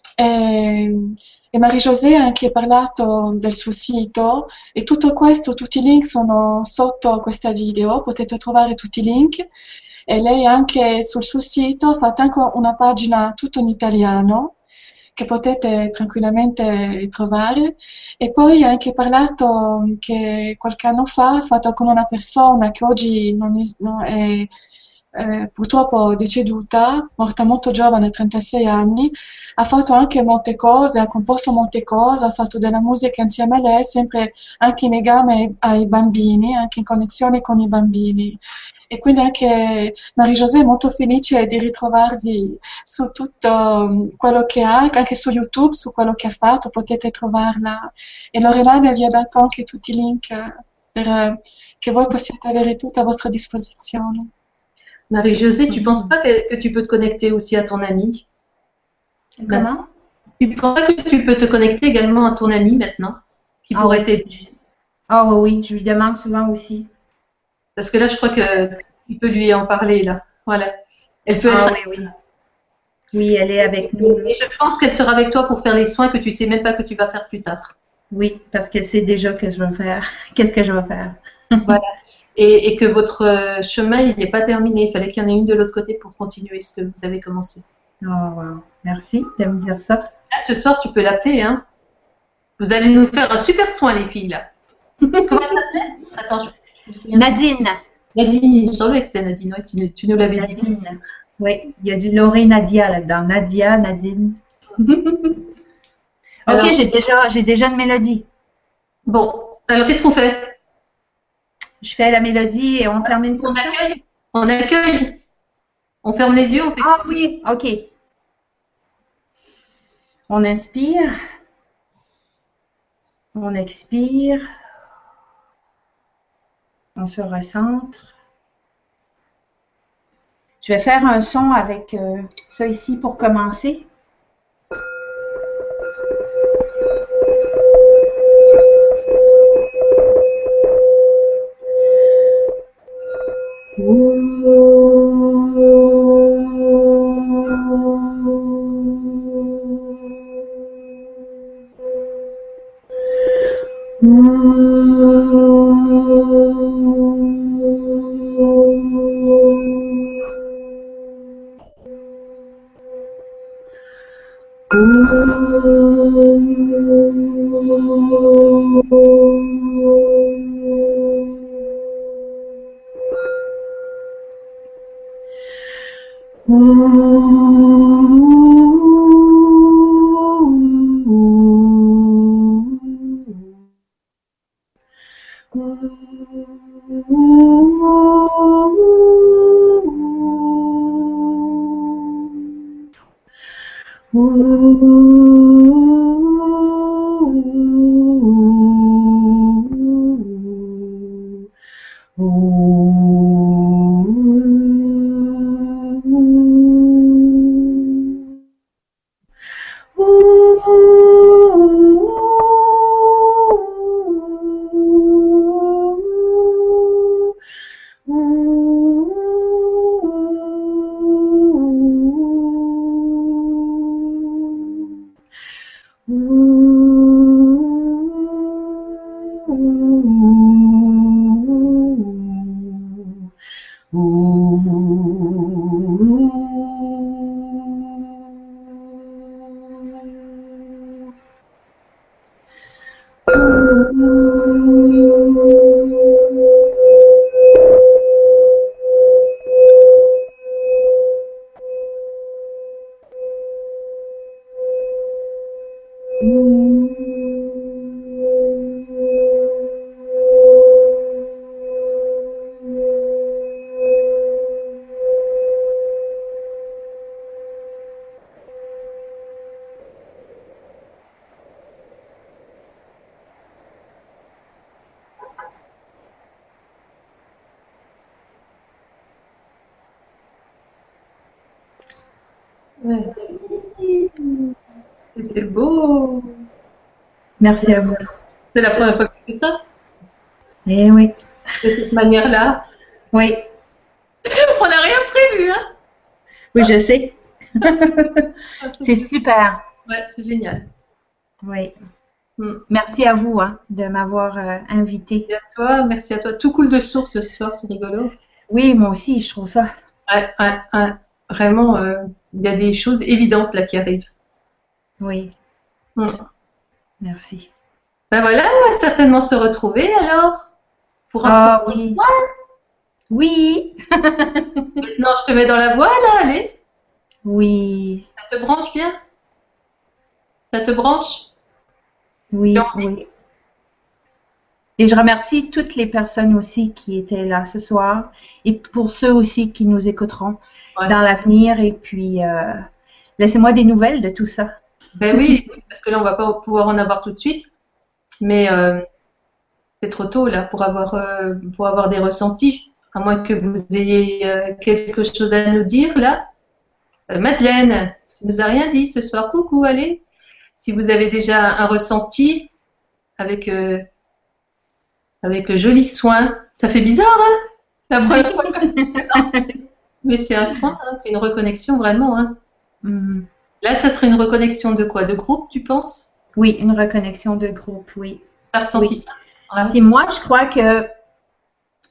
E, e Marie-José ha anche parlato del suo sito e tutto questo, tutti i link sono sotto questa video, potete trovare tutti i link. E lei anche sul suo sito ha fatto anche una pagina tutto in italiano che potete tranquillamente trovare, e poi ha anche parlato che qualche anno fa ha fatto con una persona che oggi non è, no, è eh, purtroppo deceduta, morta molto giovane, a trentasei anni, ha fatto anche molte cose, ha composto molte cose, ha fatto della musica insieme a lei, sempre anche in legame ai, ai bambini, anche in connessione con i bambini. E quindi anche Marie-José è molto felice di ritrovarvi su tutto quello che ha, anche su YouTube, su quello che ha fatto, potete trovarla. E Lorenadia vi ha dato anche tutti i link per che voi possiate avere tutto a vostra disposizione. Marie-José, tu ne penses pas que, que tu peux te connecter aussi à ton ami? Comment? Tu ne penses pas que tu peux te connecter également à ton ami maintenant, qui ah, pourrait oui. t'aider? Ah oui, oui, je lui demande souvent aussi. Parce que là, je crois que tu peux lui en parler, là. Voilà. Elle peut ah, être... oui, oui. Oui, elle est avec nous. Et je pense qu'elle sera avec toi pour faire les soins que tu ne sais même pas que tu vas faire plus tard. Oui, parce qu'elle sait déjà que je vais faire. Qu'est-ce que je vais faire? Voilà. Et, et que votre euh, chemin, il n'est pas terminé. Il fallait qu'il y en ait une de l'autre côté pour continuer ce que vous avez commencé. Oh, wow. Merci de me dire ça. Là, ce soir, tu peux l'appeler, hein. Vous allez nous faire un super soin, les filles, là. Comment elle s'appelait? Attends, je, je me souviens. Nadine. Nadine, il me semblait que c'était Nadine. Ouais, tu, tu nous l'avais dit. Nadine. Oui, il y a du Lauré Nadia là-dedans. Nadia, Nadine. Alors, ok, j'ai déjà, j'ai déjà une mélodie. Bon, alors qu'est-ce qu'on fait? Je fais la mélodie et on termine On comme ça. accueille? On accueille? On ferme les yeux, on fait. Ah oui, ok. On inspire. On expire. On se recentre. Je vais faire un son avec euh, ça ici pour commencer. Merci. C'était beau. Merci à vous. C'est la première fois que tu fais ça? Eh oui. De cette manière-là. Oui. On n'a rien prévu, hein? Oui, je sais. C'est super. Ouais, c'est génial. Oui. Mm. Merci à vous hein, de m'avoir euh, invité. Merci à toi, merci à toi. Tout coule de source ce soir, c'est rigolo. Oui, moi aussi, je trouve ça. Ouais, ouais, ouais. Vraiment, euh, il y a des choses évidentes là qui arrivent. Oui. Mm. Merci. Ben voilà, on va certainement se retrouver alors. Pour Ah oui. Oui. Maintenant, je te mets dans la voie là, allez. Oui. Ça te branche bien? Ça te branche? Oui, oui. Et je remercie toutes les personnes aussi qui étaient là ce soir et pour ceux aussi qui nous écouteront Ouais. dans l'avenir. Et puis, euh, laissez-moi des nouvelles de tout ça. Ben oui, parce que là, on va pas pouvoir en avoir tout de suite. Mais euh, c'est trop tôt là pour avoir, euh, pour avoir des ressentis. À moins que vous ayez euh, quelque chose à nous dire là. Euh, Madeleine, tu nous as rien dit ce soir. Coucou, allez. Si vous avez déjà un ressenti avec, euh, avec le joli soin. Ça fait bizarre, hein? La première fois. Mais c'est un soin, hein, c'est une reconnexion vraiment. Hein. Mhm. Là, ça serait une reconnexion de quoi? De groupe, tu penses? Oui, une reconnexion de groupe, oui. Tu as ressenti Oui. ça? Ouais. Puis moi, je crois que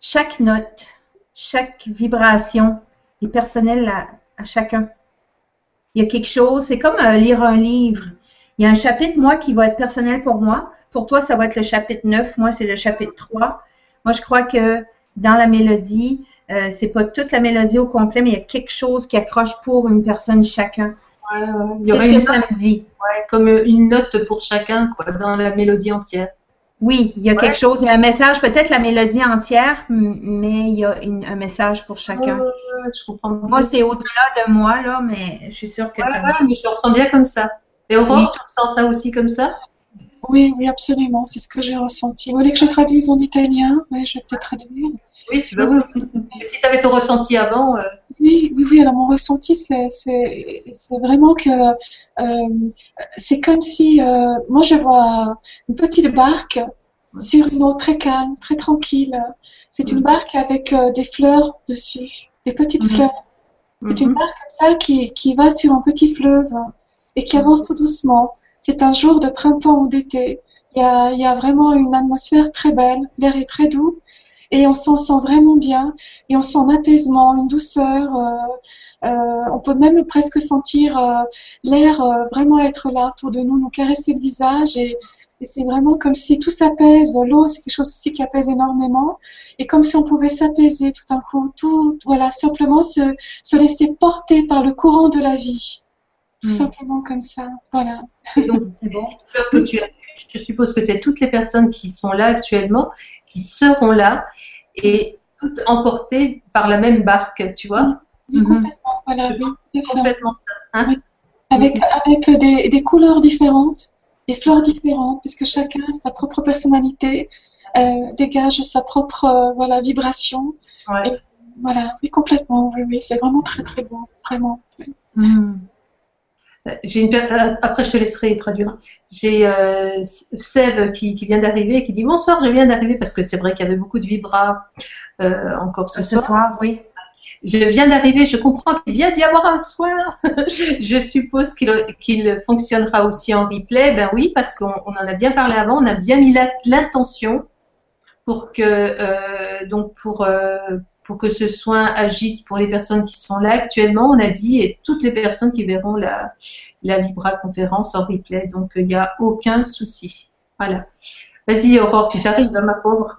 chaque note, chaque vibration est personnelle à, à chacun. Il y a quelque chose, c'est comme euh, lire un livre. Il y a un chapitre, moi, qui va être personnel pour moi. Pour toi, ça va être le chapitre neuf. Moi, c'est le chapitre trois. Moi, je crois que dans la mélodie, euh, c'est pas toute la mélodie au complet, mais il y a quelque chose qui accroche pour une personne chacun. Ouais, ouais. Il y aurait Qu'est-ce que une ça note, me dit? ouais, comme une note pour chacun, quoi, dans la mélodie entière. Oui, il y a Ouais. quelque chose, il y a un message, peut-être la mélodie entière, m- mais il y a une- un message pour chacun. Ouais, ouais, ouais, je comprends. Moi, c'est au-delà de moi, là, mais je suis sûre que Ouais, ça me... ouais, mais je le ressens bien comme ça. Et Aurore, Oui. tu ressens ça aussi comme ça? Oui, oui, absolument, c'est ce que j'ai ressenti. Vous voulez que je traduise en italien? Oui, je vais peut-être traduire. Oui, tu vas, oui. Mais si tu avais ton ressenti avant, euh, Oui, oui, oui, alors mon ressenti, c'est, c'est, c'est vraiment que euh, c'est comme si, euh, moi je vois une petite barque sur une eau très calme, très tranquille. C'est une Mhm. barque avec euh, des fleurs dessus, des petites Mhm. fleurs. C'est une mhm. barque comme ça qui, qui va sur un petit fleuve et qui avance tout doucement. C'est un jour de printemps ou d'été. Il y a, il y a vraiment une atmosphère très belle, l'air est très doux et on s'en sent vraiment bien et on sent un apaisement, une douceur. Euh, euh, on peut même presque sentir euh, l'air euh, vraiment être là autour de nous, nous caresser le visage et, et c'est vraiment comme si tout s'apaise. L'eau, c'est quelque chose aussi qui apaise énormément et comme si on pouvait s'apaiser tout d'un coup, tout, voilà, simplement se, se laisser porter par le courant de la vie. Tout Mm. simplement comme ça, voilà. Et donc, C'est bon. les fleurs que tu as vues, je suppose que c'est toutes les personnes qui sont là actuellement, qui seront là, et toutes emportées par la même barque, tu vois? Oui, Mhm. complètement, voilà, oui, tout à fait. Complètement ça. Hein? Oui. Avec, avec des, des couleurs différentes, des fleurs différentes, puisque chacun a sa propre personnalité, euh, dégage sa propre euh, voilà, vibration. Ouais. Et voilà, oui, complètement, oui, oui, c'est vraiment très très beau, vraiment. Mhm. J'ai une per- euh, Après, je te laisserai traduire. J'ai euh, Sève qui, qui vient d'arriver et qui dit bonsoir, je viens d'arriver parce que c'est vrai qu'il y avait beaucoup de vibras euh, encore ce Ce soir. soir, oui. Je viens d'arriver, je comprends qu'il vient d'y avoir un soir. Je suppose qu'il qu'il fonctionnera aussi en replay. Ben oui, parce qu'on on en a bien parlé avant, on a bien mis la- l'intention pour que euh, donc pour euh, pour que ce soin agisse pour les personnes qui sont là actuellement, on a dit, et toutes les personnes qui verront la la Vibra conférence en replay. Donc il n'y a aucun souci. Voilà. Vas-y Aurore, si t'arrives, ma pauvre.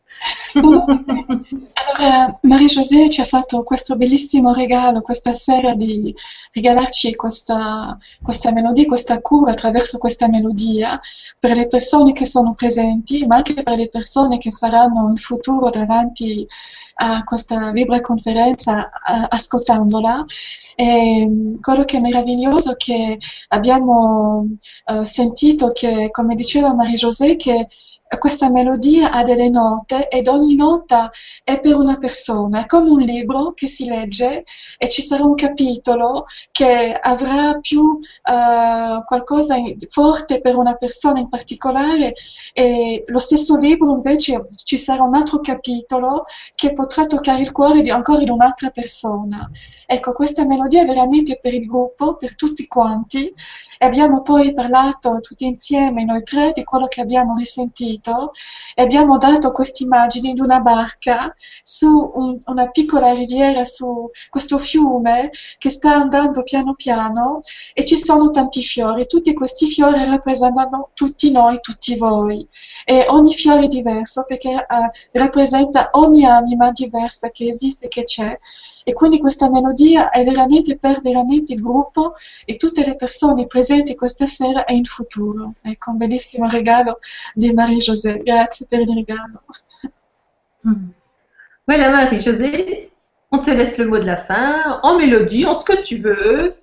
Allora, Marie-José ci ha fatto questo bellissimo regalo questa sera di regalarci questa, questa melodia, questa cura attraverso questa melodia per le persone che sono presenti, ma anche per le persone che saranno in futuro davanti a questa vibra-conferenza a- ascoltandola. E mh, quello che è meraviglioso è che abbiamo eh, sentito che, come diceva Marie-José, che questa melodia ha delle note ed ogni nota è per una persona, è come un libro che si legge e ci sarà un capitolo che avrà più eh, qualcosa in- forte per una persona in particolare e lo stesso libro invece ci sarà un altro capitolo che potrà toccare il cuore di, ancora di un'altra persona. Ecco, questa melodia è veramente per il gruppo, per tutti quanti e abbiamo poi parlato tutti insieme, noi tre, di quello che abbiamo risentito e abbiamo dato queste immagini di una barca su un- una piccola riviera, su questo fiume che sta andando piano piano e ci sono tanti fiori. Tutti questi fiori rappresentano tutti noi, tutti voi. E ogni fiore è diverso perché eh, rappresenta ogni anima diversa che esiste, che c'è. E quindi questa melodia è veramente per veramente il gruppo e tutte le persone presenti questa sera e in futuro. Ecco, un bellissimo regalo di Marie-José. Grazie per il regalo. Mhm. Voilà Marie-Josée, on te laisse le mot de la fin, en mélodie, en ce que tu veux.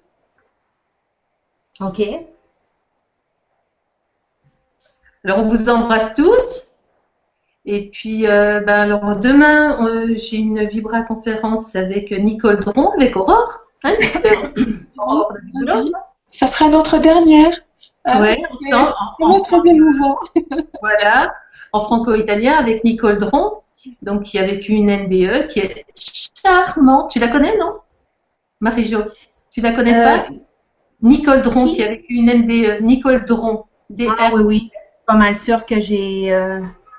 OK. Alors on vous embrasse tous. Et puis euh, ben, alors demain euh, j'ai une Vibra conférence avec Nicole Dron, avec Aurore. Hein, Aurore de Boulot. Oui. Ça sera notre dernière. hein. Ouais, ensemble, C'est en- notre ensemble, émouvant. voilà, en franco-italien avec Nicole Dron, donc qui a vécu une N D E, qui est charmante. Tu la connais, non? Marie-Jo, tu la connais Euh, pas? Nicole Dron, qui? qui a vécu une N D E. Nicole Dron. Ah oui, oui. Pas mal sûr que j'ai... euh,